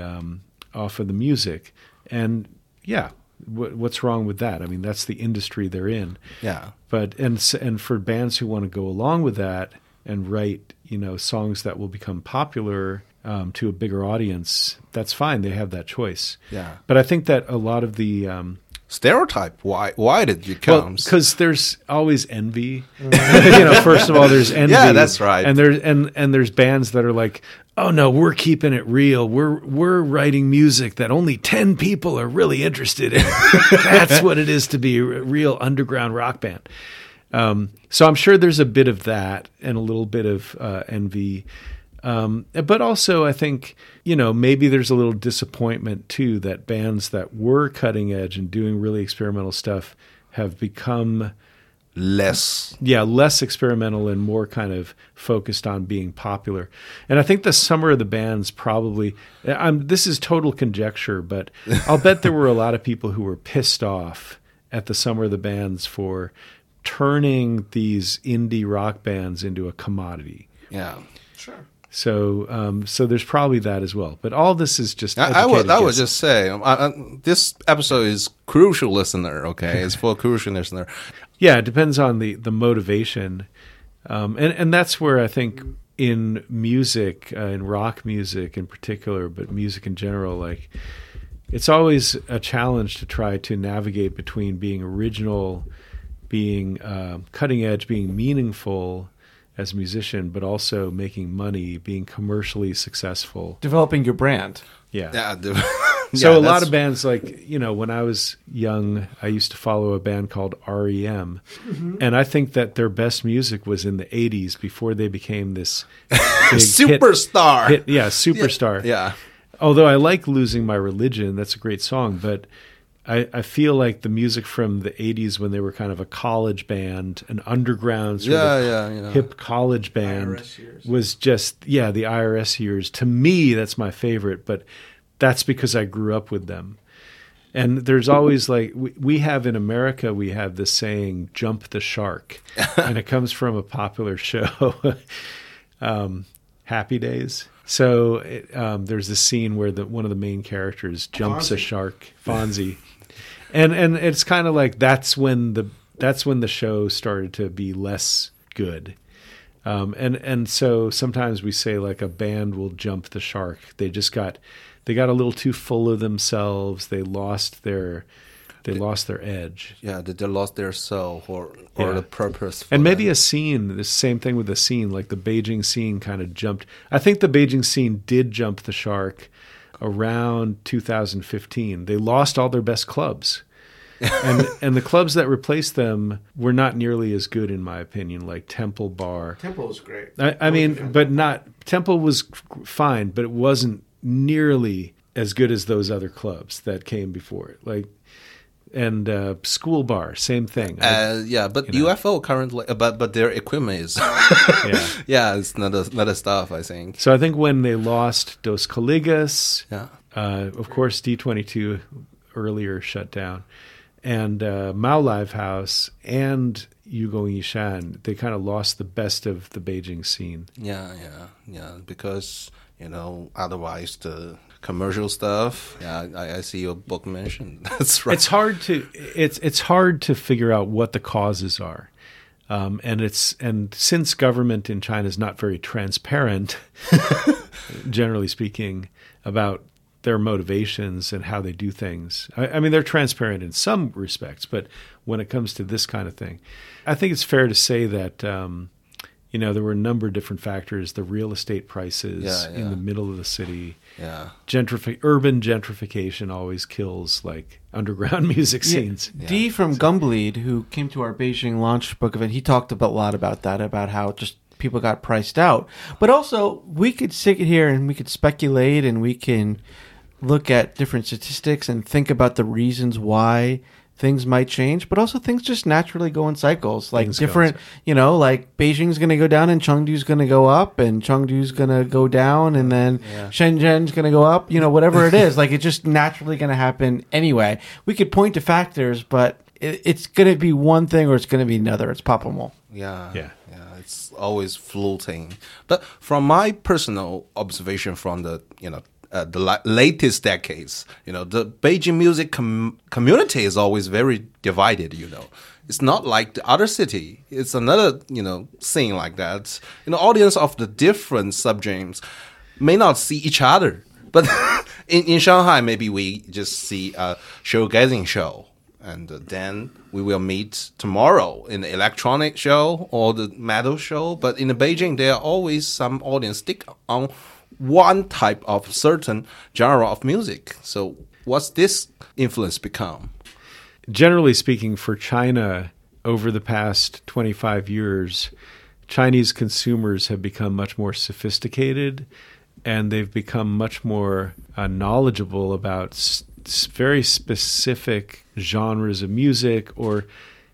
music. And yeah, what's wrong with that? I mean, that's the industry they're in. Yeah. But and for bands who want to go along with that and write, songs that will become popular to a bigger audience, that's fine. They have that choice. Yeah. But I think that a lot of the stereotype. Why did you come? Well, because there's always envy. First of all, there's envy. Yeah, that's right. And there's bands that are like, oh no, we're keeping it real. We're writing music that only 10 people are really interested in. That's what it is to be a real underground rock band. So I'm sure there's a bit of that and a little bit of envy. But also I think, maybe there's a little disappointment too that bands that were cutting edge and doing really experimental stuff have become less experimental and more kind of focused on being popular. And I think the Summer of the Bands probably, this is total conjecture, but I'll bet there were a lot of people who were pissed off at the Summer of the Bands for turning these indie rock bands into a commodity. Yeah, sure. So there's probably that as well. But all this is just I would just say this episode is crucial listener. Okay, it's for crucial listener. Yeah, it depends on the motivation, and that's where I think in music, in rock music in particular, but music in general, like it's always a challenge to try to navigate between being original, being cutting edge, being meaningful as a musician, but also making money, being commercially successful, developing your brand. Yeah. So a lot of bands, like, when I was young, I used to follow a band called REM, and I think that their best music was in the 80s before they became this big superstar. Superstar. Yeah. Although I like Losing My Religion, that's a great song, but I feel like the music from the 80s when they were kind of a college band, an underground sort of hip college band, was just, the IRS years. To me, that's my favorite, but that's because I grew up with them. And there's always like, we have in America, we have this saying, jump the shark. And it comes from a popular show, Happy Days. So there's this scene where one of the main characters jumps a shark, Fonzie. And it's kind of like that's when the show started to be less good. And so sometimes we say like a band will jump the shark. They got a little too full of themselves. They lost their edge. Yeah, they lost their soul or the purpose. And maybe a scene, the same thing with the scene, like the Beijing scene kind of jumped. I think the Beijing scene did jump the shark around 2015. They lost all their best clubs. and the clubs that replaced them were not nearly as good, in my opinion, like Temple Bar. Temple was great. I mean, but Temple was fine, but it wasn't nearly as good as those other clubs that came before it. Like, and School Bar, same thing. But UFO currently, but their equipment is, it's not stuff, I think. So I think when they lost Dos Coligas, of course D22 earlier shut down, and Mao Live House and Yugong Yishan, they kind of lost the best of the Beijing scene. Yeah. Because, otherwise the commercial stuff. Yeah, I see your book mentioned. That's right. It's hard to figure out what the causes are. And since government in China is not very transparent, generally speaking, about their motivations and how they do things. I mean, they're transparent in some respects, but when it comes to this kind of thing, I think it's fair to say that, there were a number of different factors. The real estate prices in the middle of the city. Yeah. Urban gentrification always kills underground music scenes. Yeah. Dee from Gumbleed, who came to our Beijing launch book event, he talked a lot about that, about how just people got priced out. But also, we could sit here and we could speculate and we can look at different statistics and think about the reasons why things might change, but also things just naturally go in cycles. Like Beijing's going to go down and Chengdu's going to go up, and Chengdu's going to go down, and then Shenzhen's going to go up, whatever it is. It's just naturally going to happen anyway. We could point to factors, but it's going to be one thing or it's going to be another. It's pop-a-mole. Yeah. It's always floating. But from my personal observation from the latest decades, the Beijing music community is always very divided, It's not like the other city. It's another, scene like that. Audience of the different subgenres may not see each other. But in Shanghai, maybe we just see a showgazing show. And then we will meet tomorrow in the electronic show or the metal show. But in Beijing, there are always some audience stick on one type of certain genre of music. So what's this influence become? Generally speaking, for China, over the past 25 years, Chinese consumers have become much more sophisticated, and they've become much more knowledgeable about very specific genres of music or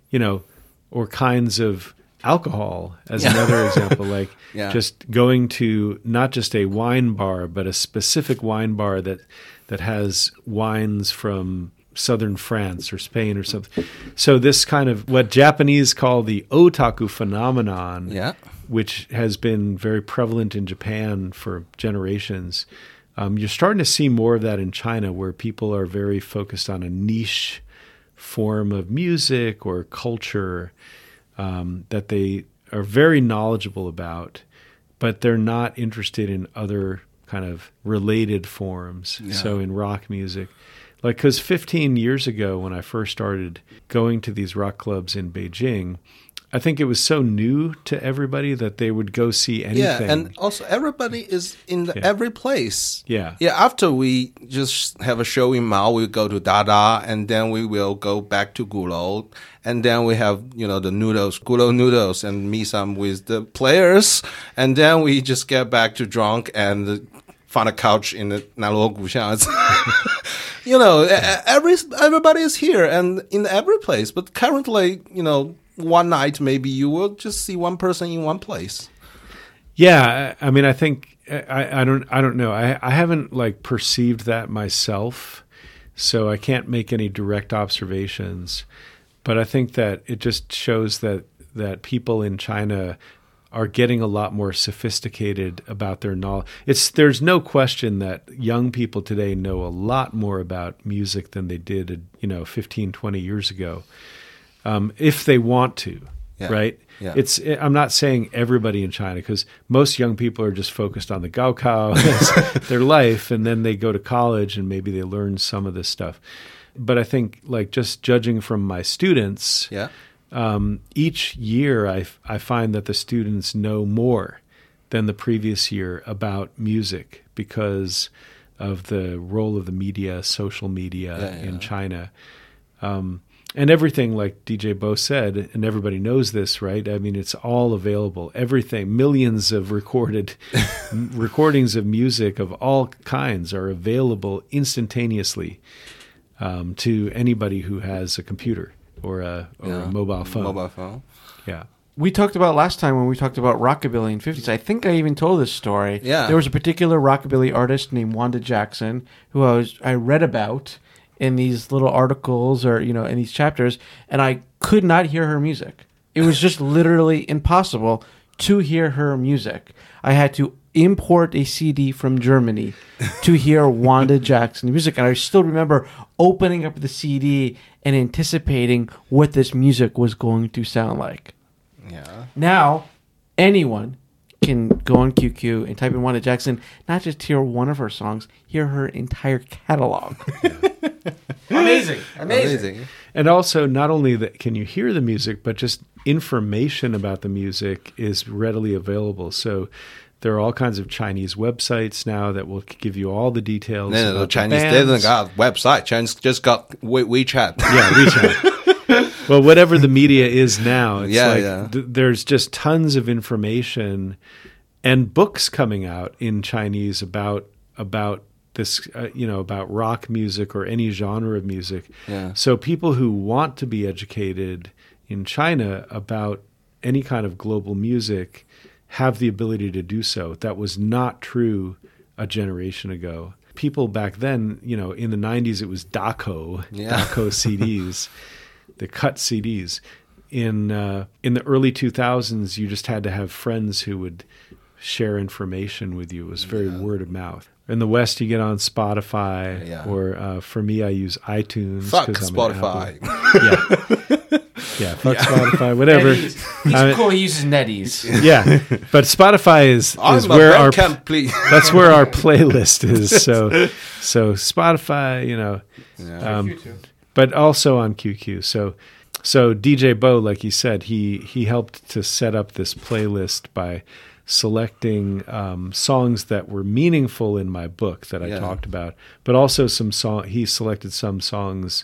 kinds of alcohol, as another example, just going to not just a wine bar, but a specific wine bar that has wines from southern France or Spain or something. So this kind of what Japanese call the otaku phenomenon, which has been very prevalent in Japan for generations. You're starting to see more of that in China, where people are very focused on a niche form of music or culture that they are very knowledgeable about, but they're not interested in other kind of related forms. Yeah. So in rock music, because 15 years ago when I first started going to these rock clubs in Beijing, I think it was so new to everybody that they would go see anything. Yeah, and also everybody is in every place. Yeah. After we just have a show in Mao, we go to Dada, and then we will go back to Gulou, and then we have the Gulou noodles, and meet some with the players, and then we just get back to drunk and find a couch in the Nanluo Guxiang. Everybody is here and in every place, but currently, one night maybe you will just see one person in one place. Yeah, I mean, I think I don't know. I haven't perceived that myself, so I can't make any direct observations. But I think that it just shows that people in China are getting a lot more sophisticated about their knowledge. There's no question that young people today know a lot more about music than they did 15, 20 years ago. If they want to, right? Yeah. I'm not saying everybody in China, because most young people are just focused on the Gaokao as their life, and then they go to college and maybe they learn some of this stuff. But I think, just judging from my students, each year I find that the students know more than the previous year about music because of the role of the media, social media in China. And everything, like DJ Bo said, and everybody knows this, right? I mean, it's all available. Everything, millions of recordings of music of all kinds are available instantaneously to anybody who has a computer or a mobile phone. Yeah. We talked about last time when we talked about rockabilly in the 50s. I think I even told this story. Yeah. There was a particular rockabilly artist named Wanda Jackson who I read about in these little articles or, in these chapters, and I could not hear her music. It was just literally impossible to hear her music. I had to import a CD from Germany to hear Wanda Jackson music. And I still remember opening up the CD and anticipating what this music was going to sound like. Yeah. Now, anyone can go on QQ and type in Wanda Jackson, not just hear one of her songs, hear her entire catalog. Amazing. And also, not only that can you hear the music, but just information about the music is readily available. So there are all kinds of Chinese websites now that will give you all the details. No, Chinese didn't got website. Chinese just got WeChat. Yeah, WeChat. Well, whatever the media is now, it's there's just tons of information and books coming out in Chinese about this, about rock music or any genre of music. Yeah. So people who want to be educated in China about any kind of global music have the ability to do so. That was not true a generation ago. People back then, in the 90s, it was Daco CDs, the cut CDs. In the early 2000s, you just had to have friends who would share information with you. It was very word of mouth. In the West, you get on Spotify, or for me, I use iTunes. Fuck Spotify. Fuck Spotify, whatever. He's cool. He uses NetEase. Yeah, but Spotify is where that's where our playlist is. So Spotify, but also on QQ. So DJ Bo, like he said, he helped to set up this playlist by selecting songs that were meaningful in my book that I talked about, but also he selected some songs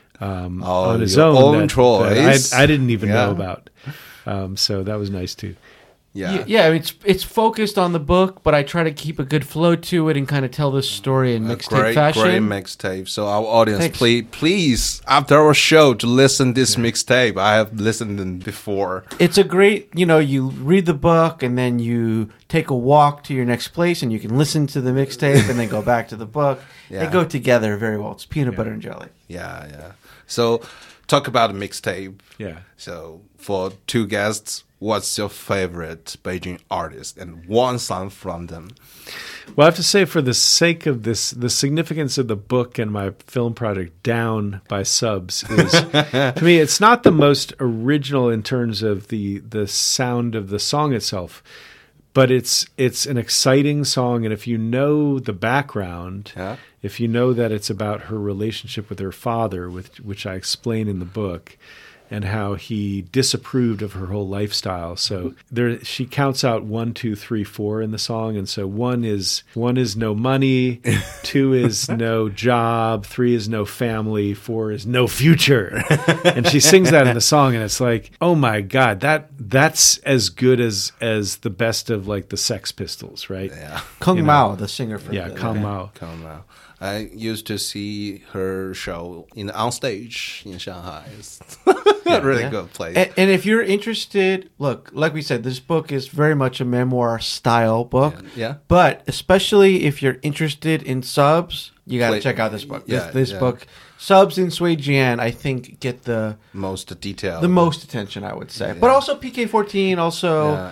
on his own that I didn't even know about. So that was nice too. Yeah. It's focused on the book, but I try to keep a good flow to it and kind of tell this story in mixtape fashion. Great mixtape. So our audience, please, after our show, to listen this mixtape. I have listened in before. It's a great, you read the book and then you take a walk to your next place and you can listen to the mixtape and then go back to the book. They go together very well. It's peanut butter and jelly. Yeah. So talk about a mixtape. Yeah. So for two guests, what's your favorite Beijing artist and one song from them? Well, I have to say, for the sake of this, the significance of the book and my film project, Down by Subs, is, to me, it's not the most original in terms of the sound of the song itself, but it's an exciting song. And if you know the background, if you know that it's about her relationship with her father, which I explain in the book, and how he disapproved of her whole lifestyle. So she counts out 1, 2, 3, 4 in the song, and so one is no money, 2 is no job, 3 is no family, 4 is no future. And she sings that in the song, and it's like, oh my God, that's as good as the best of like the Sex Pistols, right? Yeah. Kung Mao, the singer for Kung Mao. I used to see her show on stage in Shanghai. Really good place. And if you're interested, look, like we said, this book is very much a memoir style book. Yeah. But especially if you're interested in subs, you got to check out this book. This book, Subs in Suijian, I think get the most detail, the most attention, I would say. But also PK14, also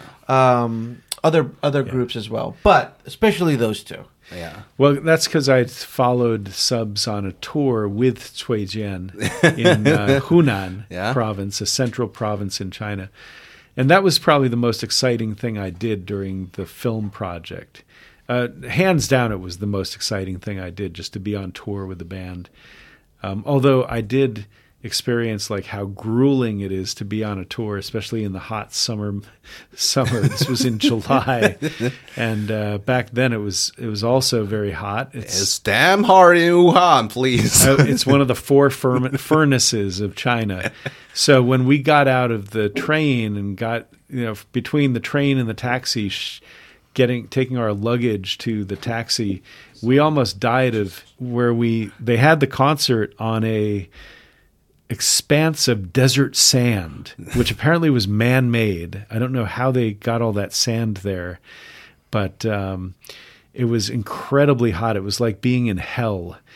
other groups as well. But especially those two. Yeah. Well, that's because I followed Subs on a tour with Cui Jian in Hunan province, a central province in China. And that was probably the most exciting thing I did during the film project. Hands down, it was the most exciting thing I did, just to be on tour with the band. Although I did experience like how grueling it is to be on a tour, especially in the hot summer. This was in July, and back then it was also very hot. It's damn hard in Wuhan, please. It's one of the 4 furnaces of China. So when we got out of the train and got between the train and the taxi, taking our luggage to the taxi, we almost died of where they had the concert on a expanse of desert sand, which apparently was man-made. I don't know how they got all that sand there, but it was incredibly hot. It was like being in hell.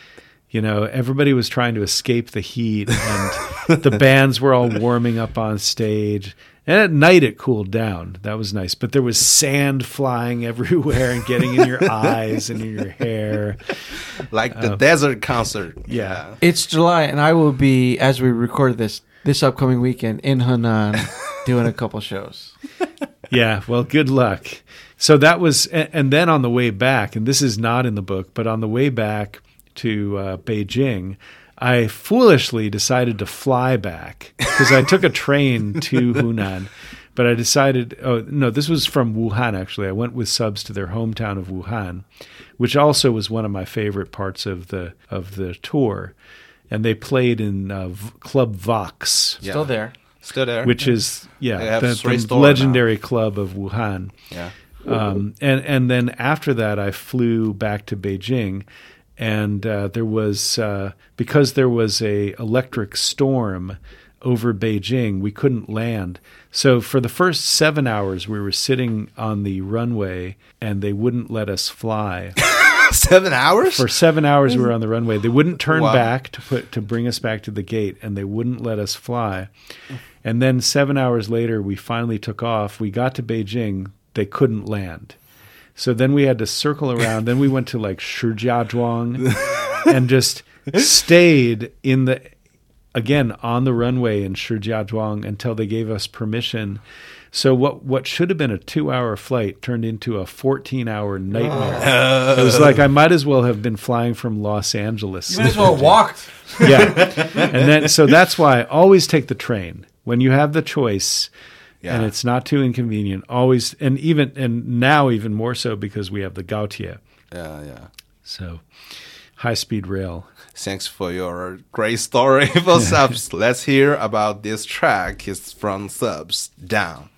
You know, everybody was trying to escape the heat, and the bands were all warming up on stage. And at night it cooled down. That was nice. But there was sand flying everywhere and getting in your eyes and in your hair. Like the desert concert. Yeah. It's July, and I will be, as we record this upcoming weekend in Henan, doing a couple shows. Yeah, well, good luck. So that was, and then on the way back, and this is not in the book, but on the way back to Beijing, I foolishly decided to fly back because I took a train to Hunan, but I decided, this was from Wuhan, actually. I went with subs to their hometown of Wuhan, which also was one of my favorite parts of the tour. And they played in Club Vox. Yeah. Still there. Which is, the legendary club of Wuhan. Yeah. And then after that, I flew back to Beijing. And there was, because there was a electric storm over Beijing, we couldn't land. So for the first 7 hours, we were sitting on the runway, and they wouldn't let us fly. 7 hours? For 7 hours, we were on the runway. They wouldn't turn back to bring us back to the gate, and they wouldn't let us fly. And then 7 hours later, we finally took off. We got to Beijing. They couldn't land. So then we had to circle around. Then we went to like Shijiazhuang and just stayed again on the runway in Shijiazhuang until they gave us permission. So what should have been a 2-hour flight turned into a 14-hour nightmare. It was like I might as well have been flying from Los Angeles. You might as well have walked. Yeah. And then so that's why I always take the train when you have the choice. Yeah. And it's not too inconvenient. Always, and now even more so because we have the Gautier. Yeah. So, high-speed rail. Thanks for your great story for Subs. Let's hear about this track. It's from Subs, Down.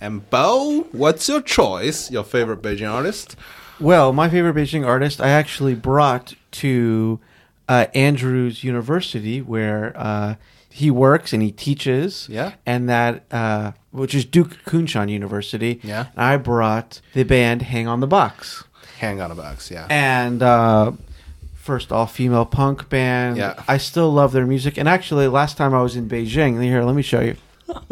And Bo, what's your choice? Your favorite Beijing artist? Well, my favorite Beijing artist, I actually brought to Andrews University, where he works and he teaches. Yeah. And that, which is Duke Kunshan University. Yeah. I brought the band Hang on the Box. Hang on a Box, yeah. And first all-female punk band. Yeah. I still love their music. And actually, last time I was in Beijing, here, let me show you.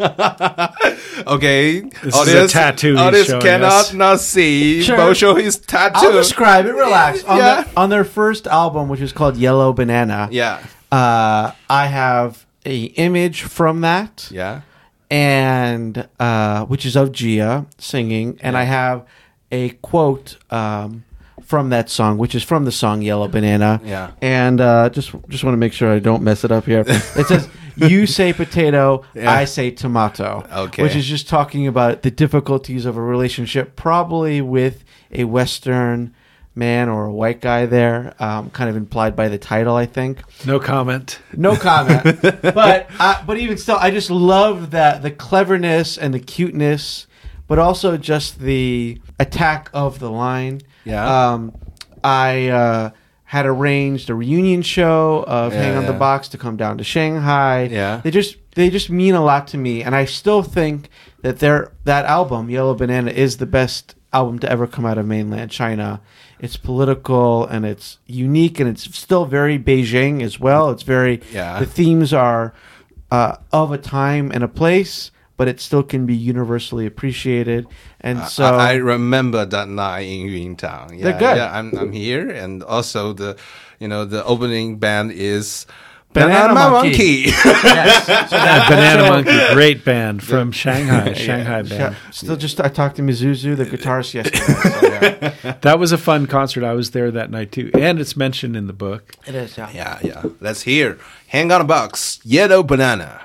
Okay, This is a tattoo he's Audience showing cannot us. not see. Sure. Bo show his tattoo. I'll describe it. Relax. Yeah. On their first album, which is called Yellow Banana, Yeah, I have a image from that, yeah. and which is of Gia singing, and I have a quote from that song, which is from the song Yellow Banana. Yeah. And just want to make sure I don't mess it up here. It says, "You say potato, Yeah. I say tomato." Okay. Which is just talking about the difficulties of a relationship, probably with a Western man or a white guy there, kind of implied by the title, I think. No comment. No comment. but even still, I just love that the cleverness and the cuteness, but also just the attack of the line. Yeah. I had arranged a reunion show of Hang on the yeah. Box to come down to Shanghai. Yeah. They just mean a lot to me, and I still think that that album, Yellow Banana, is the best album to ever come out of mainland China. It's political and it's unique, and it's still very Beijing as well. It's very Yeah. the themes are of a time and a place, but it still can be universally appreciated. And so I remember that night in Yuntang. Yeah, They're good. Yeah, I'm here, and also the opening band is Banana Monkey. Yes. Banana Monkey, great band from Shanghai. Shanghai band. Still, I talked to Mizuzu, the guitarist, yesterday. So, yeah. That was a fun concert. I was there that night too, and it's mentioned in the book. It is, yeah. Yeah. Let's hear Hang on a Box, Yellow Banana.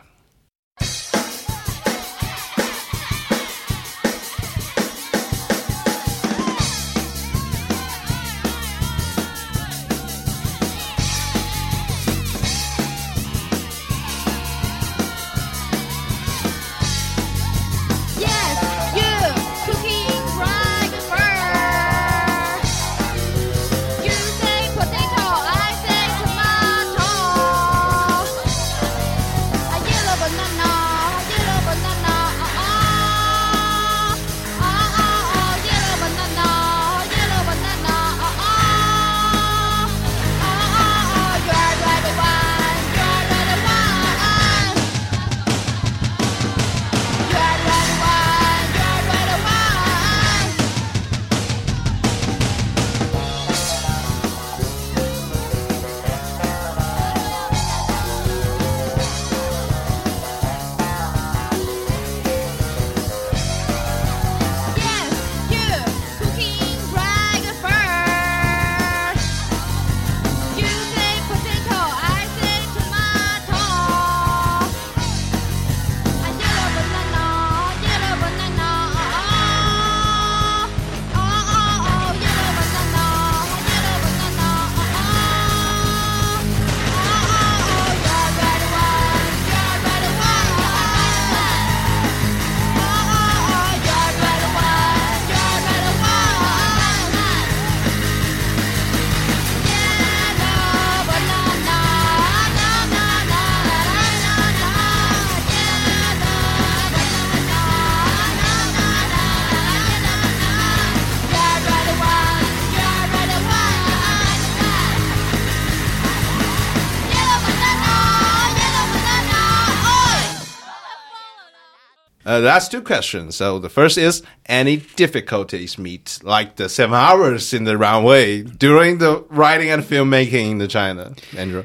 That's two questions. So the first is, any difficulties meet, like the 7 hours in the runway during the writing and filmmaking in China, Andrew?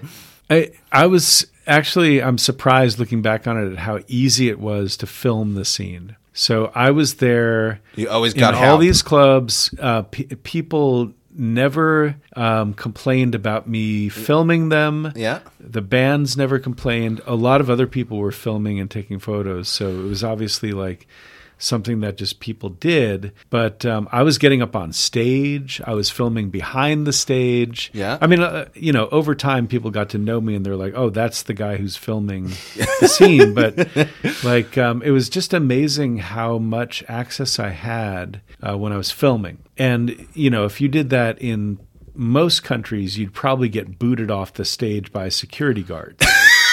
I was actually, I'm surprised looking back on it at how easy it was to film the scene. So I was there. You always in got all help. these clubs. People never complained about me filming them. Yeah. The bands never complained. A lot of other people were filming and taking photos. So it was obviously like something that just people did. But I was getting up on stage. I was filming behind the stage. Yeah. I mean, over time, people got to know me and they're like, oh, that's the guy who's filming the scene. But it was just amazing how much access I had when I was filming. And, if you did that in most countries, you'd probably get booted off the stage by security guards.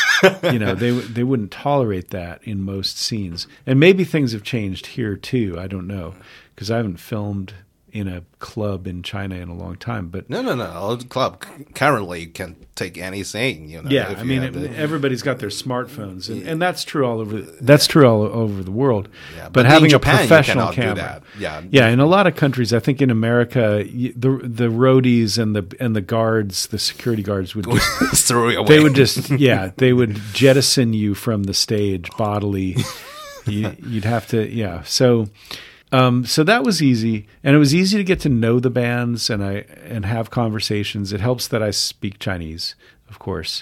They wouldn't tolerate that in most scenes. And maybe things have changed here too. I don't know, because I haven't filmed in a club in China in a long time. But no. The club currently can take any scene. Yeah, I mean, everybody's got their smartphones, and that's true all over. That's true all over the world. Yeah, but having Japan, a professional you camera, do that. Yeah. In a lot of countries, I think in America, the roadies and the guards, the security guards would just throw you away. They would just they would jettison you from the stage bodily. You'd have to So that was easy, and it was easy to get to know the bands and have conversations. It helps that I speak Chinese, of course,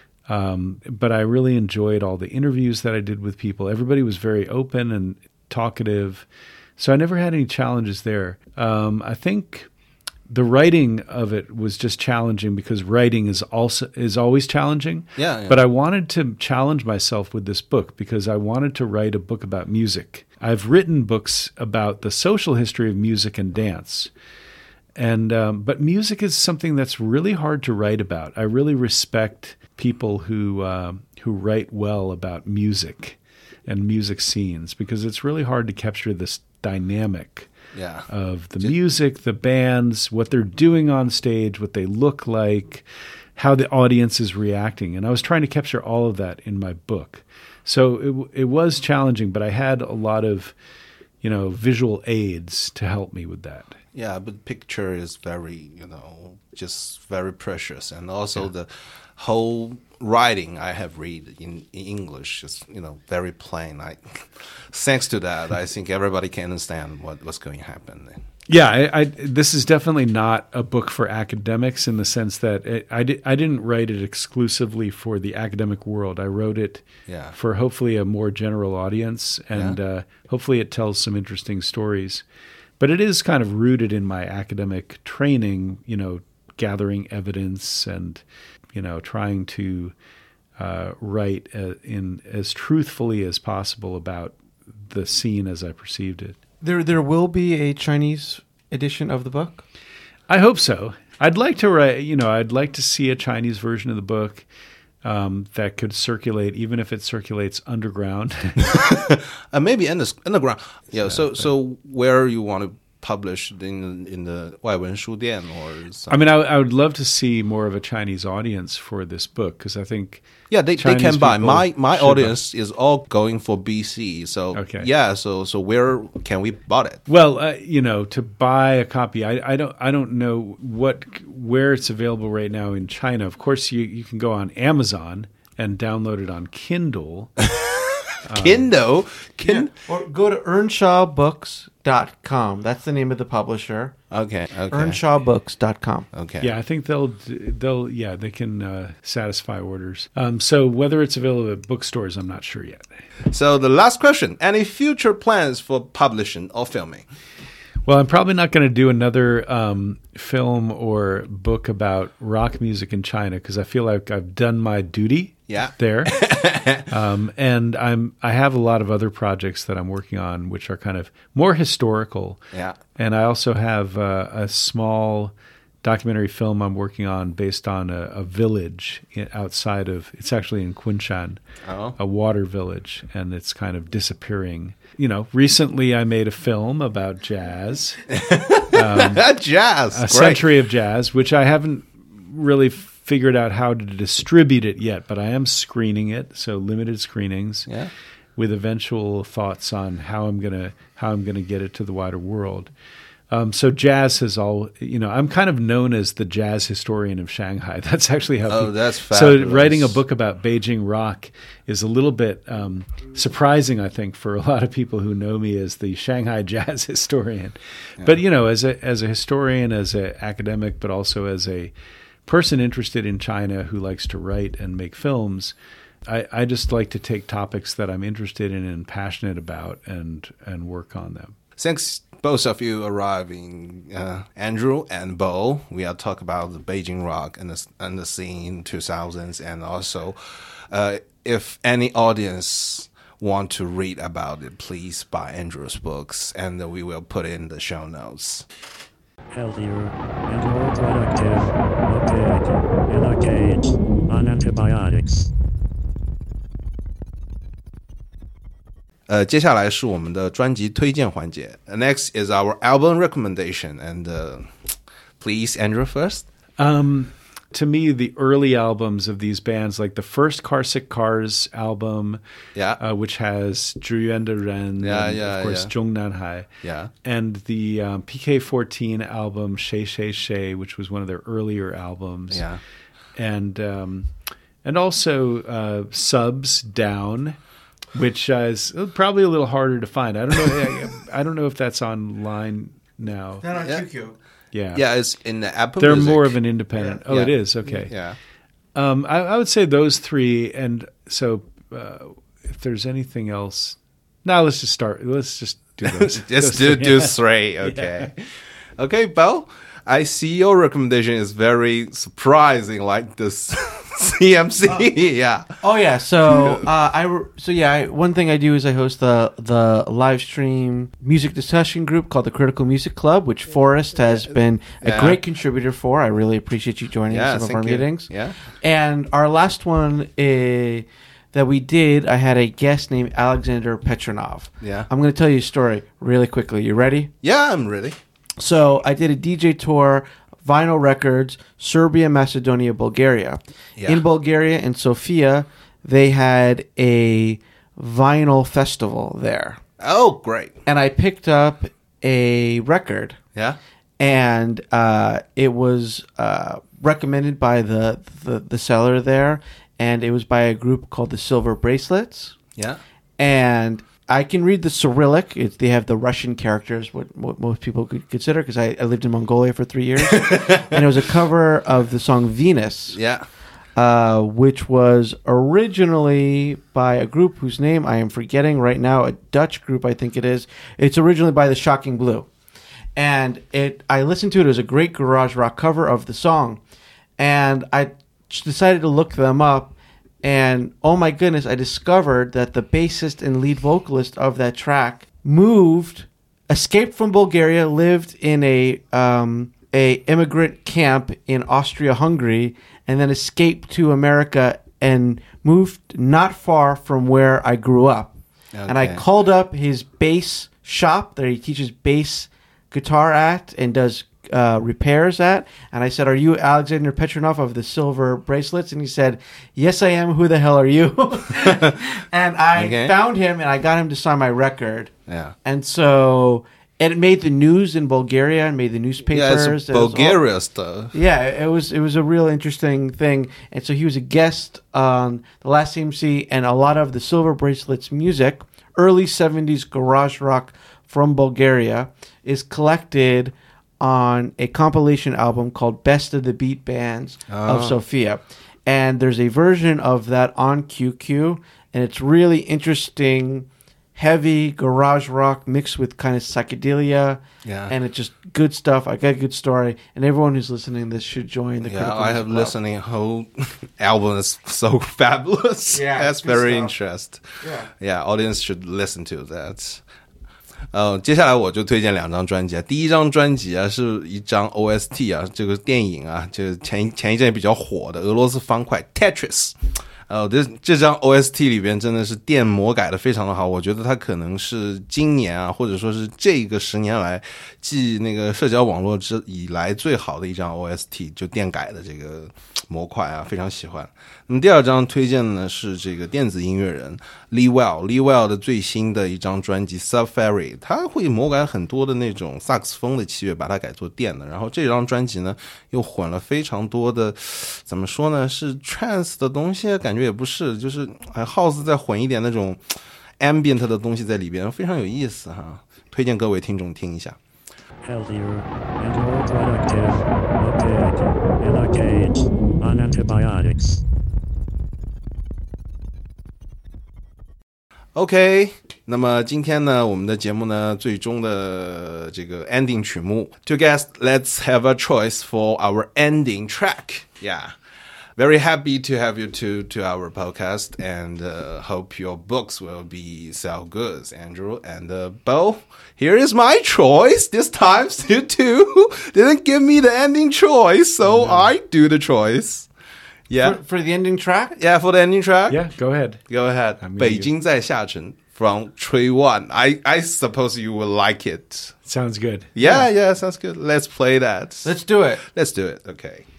but I really enjoyed all the interviews that I did with people. Everybody was very open and talkative, so I never had any challenges there. I think the writing of it was just challenging because writing is always challenging. Yeah. But I wanted to challenge myself with this book because I wanted to write a book about music. I've written books about the social history of music and dance. And but music is something that's really hard to write about. I really respect people who write well about music and music scenes because it's really hard to capture this dynamic of the music, the bands, what they're doing on stage, what they look like, how the audience is reacting. And I was trying to capture all of that in my book. So it was challenging, but I had a lot of, visual aids to help me with that. Yeah, but picture is very, just very precious. And also the whole writing I have read in English is, very plain. Thanks to that, I think everybody can understand what's going to happen. Yeah, this is definitely not a book for academics in the sense that I didn't write it exclusively for the academic world. I wrote it for hopefully a more general audience, and hopefully it tells some interesting stories. But it is kind of rooted in my academic training, gathering evidence and, trying to write in as truthfully as possible about the scene as I perceived it. There will be a Chinese edition of the book? I hope so. I'd like to write, I'd like to see a Chinese version of the book that could circulate, even if it circulates underground. Maybe underground. Yeah. So where you want to publish in the 外文书店 or something? I mean, I would love to see more of a Chinese audience for this book because I think they can buy. My audience is all going for BC. So so where can we buy it? Well, to buy a copy, I don't know where it's available right now in China. Of course, you can go on Amazon and download it on Kindle. Kindle? Or go to EarnshawBooks.com. That's the name of the publisher. Okay. EarnshawBooks.com. Okay. Yeah, I think they can satisfy orders. So whether it's available at bookstores, I'm not sure yet. So the last question, any future plans for publishing or filming? Well, I'm probably not going to do another film or book about rock music in China because I feel like I've done my duty there. And I have a lot of other projects that I'm working on which are kind of more historical. Yeah. And I also have a small documentary film I'm working on based on a village outside of, it's actually in Kunshan, a water village, and it's kind of disappearing. Recently I made a film about jazz. Jazz! A century of jazz, which I haven't really figured out how to distribute it yet, but I am screening it, so limited screenings, with eventual thoughts on how I'm gonna get it to the wider world. So jazz has I'm kind of known as the jazz historian of Shanghai. That's actually how. That's fabulous. So writing a book about Beijing rock is a little bit surprising, I think, for a lot of people who know me as the Shanghai jazz historian. Yeah. But as a historian, as an academic, but also as a person interested in China who likes to write and make films, I just like to take topics that I'm interested in and passionate about and work on them. Thanks both of you arriving, Andrew and Bo. We are talk about the Beijing rock and the scene 2000s, and also if any audience want to read about it, please buy Andrew's books, and we will put in the show notes. Healthier and more productive. Okay, in a cage on antibiotics. 接下来是我们的专辑推荐环节。Next is our album recommendation, and please, Andrew first. To me, the early albums of these bands, like the first Carsick Cars album, which has 志愿的人, of course, 中南海, and the PK14 album, 谁谁谁, which was one of their earlier albums, and also Subs Down, which is probably a little harder to find. I don't know if that's online now. Not on QQ. Yeah, it's in the Apple They're Music. more of an independent. Yeah. Oh, it is? Okay. Yeah. I would say those three, and so if there's anything else... Now let's just do those. Just do three, okay. Yeah. Okay, Bo, I see your recommendation is very surprising, like this CMC. Oh yeah. So one thing I do is I host the live stream music discussion group called the Critical Music Club, which Forrest has been a great contributor for. I really appreciate you joining some of our meetings. Yeah. And our last one that we did, I had a guest named Alexander Petronov. Yeah. I'm going to tell you a story really quickly. You ready? Yeah, I'm ready. So I did a DJ tour, vinyl records, Serbia, Macedonia, Bulgaria. Yeah. In Bulgaria, in Sofia, they had a vinyl festival there. Oh, great. And I picked up a record. Yeah. And it was recommended by the seller there, and it was by a group called the Silver Bracelets. Yeah. And I can read the Cyrillic. They have the Russian characters, what most people could consider, because I lived in Mongolia for 3 years. And it was a cover of the song Venus. Yeah. Which was originally by a group whose name I am forgetting right now, a Dutch group, I think it is. It's originally by the Shocking Blue. And I listened to it. It was a great garage rock cover of the song. And I decided to look them up. And oh my goodness, I discovered that the bassist and lead vocalist of that track escaped from Bulgaria, lived in a immigrant camp in Austria-Hungary, and then escaped to America and moved not far from where I grew up. Okay. And I called up his bass shop that he teaches bass guitar at and does repairs at, and I said, "Are you Alexander Petronov of the Silver Bracelets?" And he said, "Yes, I am. Who the hell are you?" And I found him, and I got him to sign my record. Yeah. And so it made the news in Bulgaria and made the newspapers. Yeah, it's Bulgaria stuff. Yeah, it was a real interesting thing. And so he was a guest on the last CMC, and a lot of the Silver Bracelets music, early 70s garage rock from Bulgaria, is collected on a compilation album called Best of the Beat Bands of Sofia. And there's a version of that on QQ, and it's really interesting, heavy garage rock mixed with kind of psychedelia. Yeah. And it's just good stuff. I got a good story, and everyone who's listening to this should join the Critical I have Club. listening whole album is so fabulous. Yeah, that's very stuff. interesting. Yeah, audience should listen to that. 接下来我就推荐2张专辑啊。第一张专辑啊是一张 OST 啊，这个电影啊，就是前一阵比较火的俄罗斯方块 Tetris。这张 OST 里边真的是电魔改的非常的好，我觉得它可能是今年啊，或者说是这个10年来继那个社交网络以来最好的一张 OST， 就电改的这个模块啊，非常喜欢。那么第二张推荐的呢是这个电子音乐人 Lee Well 的最新的一张专辑 Safari， 他会魔改很多的那种萨克斯风的器乐，把它改做电的。然后这张专辑呢又混了非常多的，怎么说呢，是 trance 的东西，感觉也不是，就是 house 再混一点那种 ambient 的东西在里边，非常有意思哈，推荐各位听众听一下。 Healthier and more productive. Okay, in a cage on antibiotics. OK， 那么今天呢，我们的节目呢，最终的这个 ending 曲目 ，To guess, let's have a choice for our ending track. Yeah. Very happy to have you to our podcast and hope your books will be sell good, Andrew and Bo. Here is my choice. This time, you two didn't give me the ending choice, so I do the choice. Yeah. For the ending track? Yeah, for the ending track. Yeah, go ahead. Go ahead. 北京在下沉 from Tree One. I suppose you will like it. Sounds good. Yeah, sounds good. Let's play that. Let's do it. Let's do it. Okay.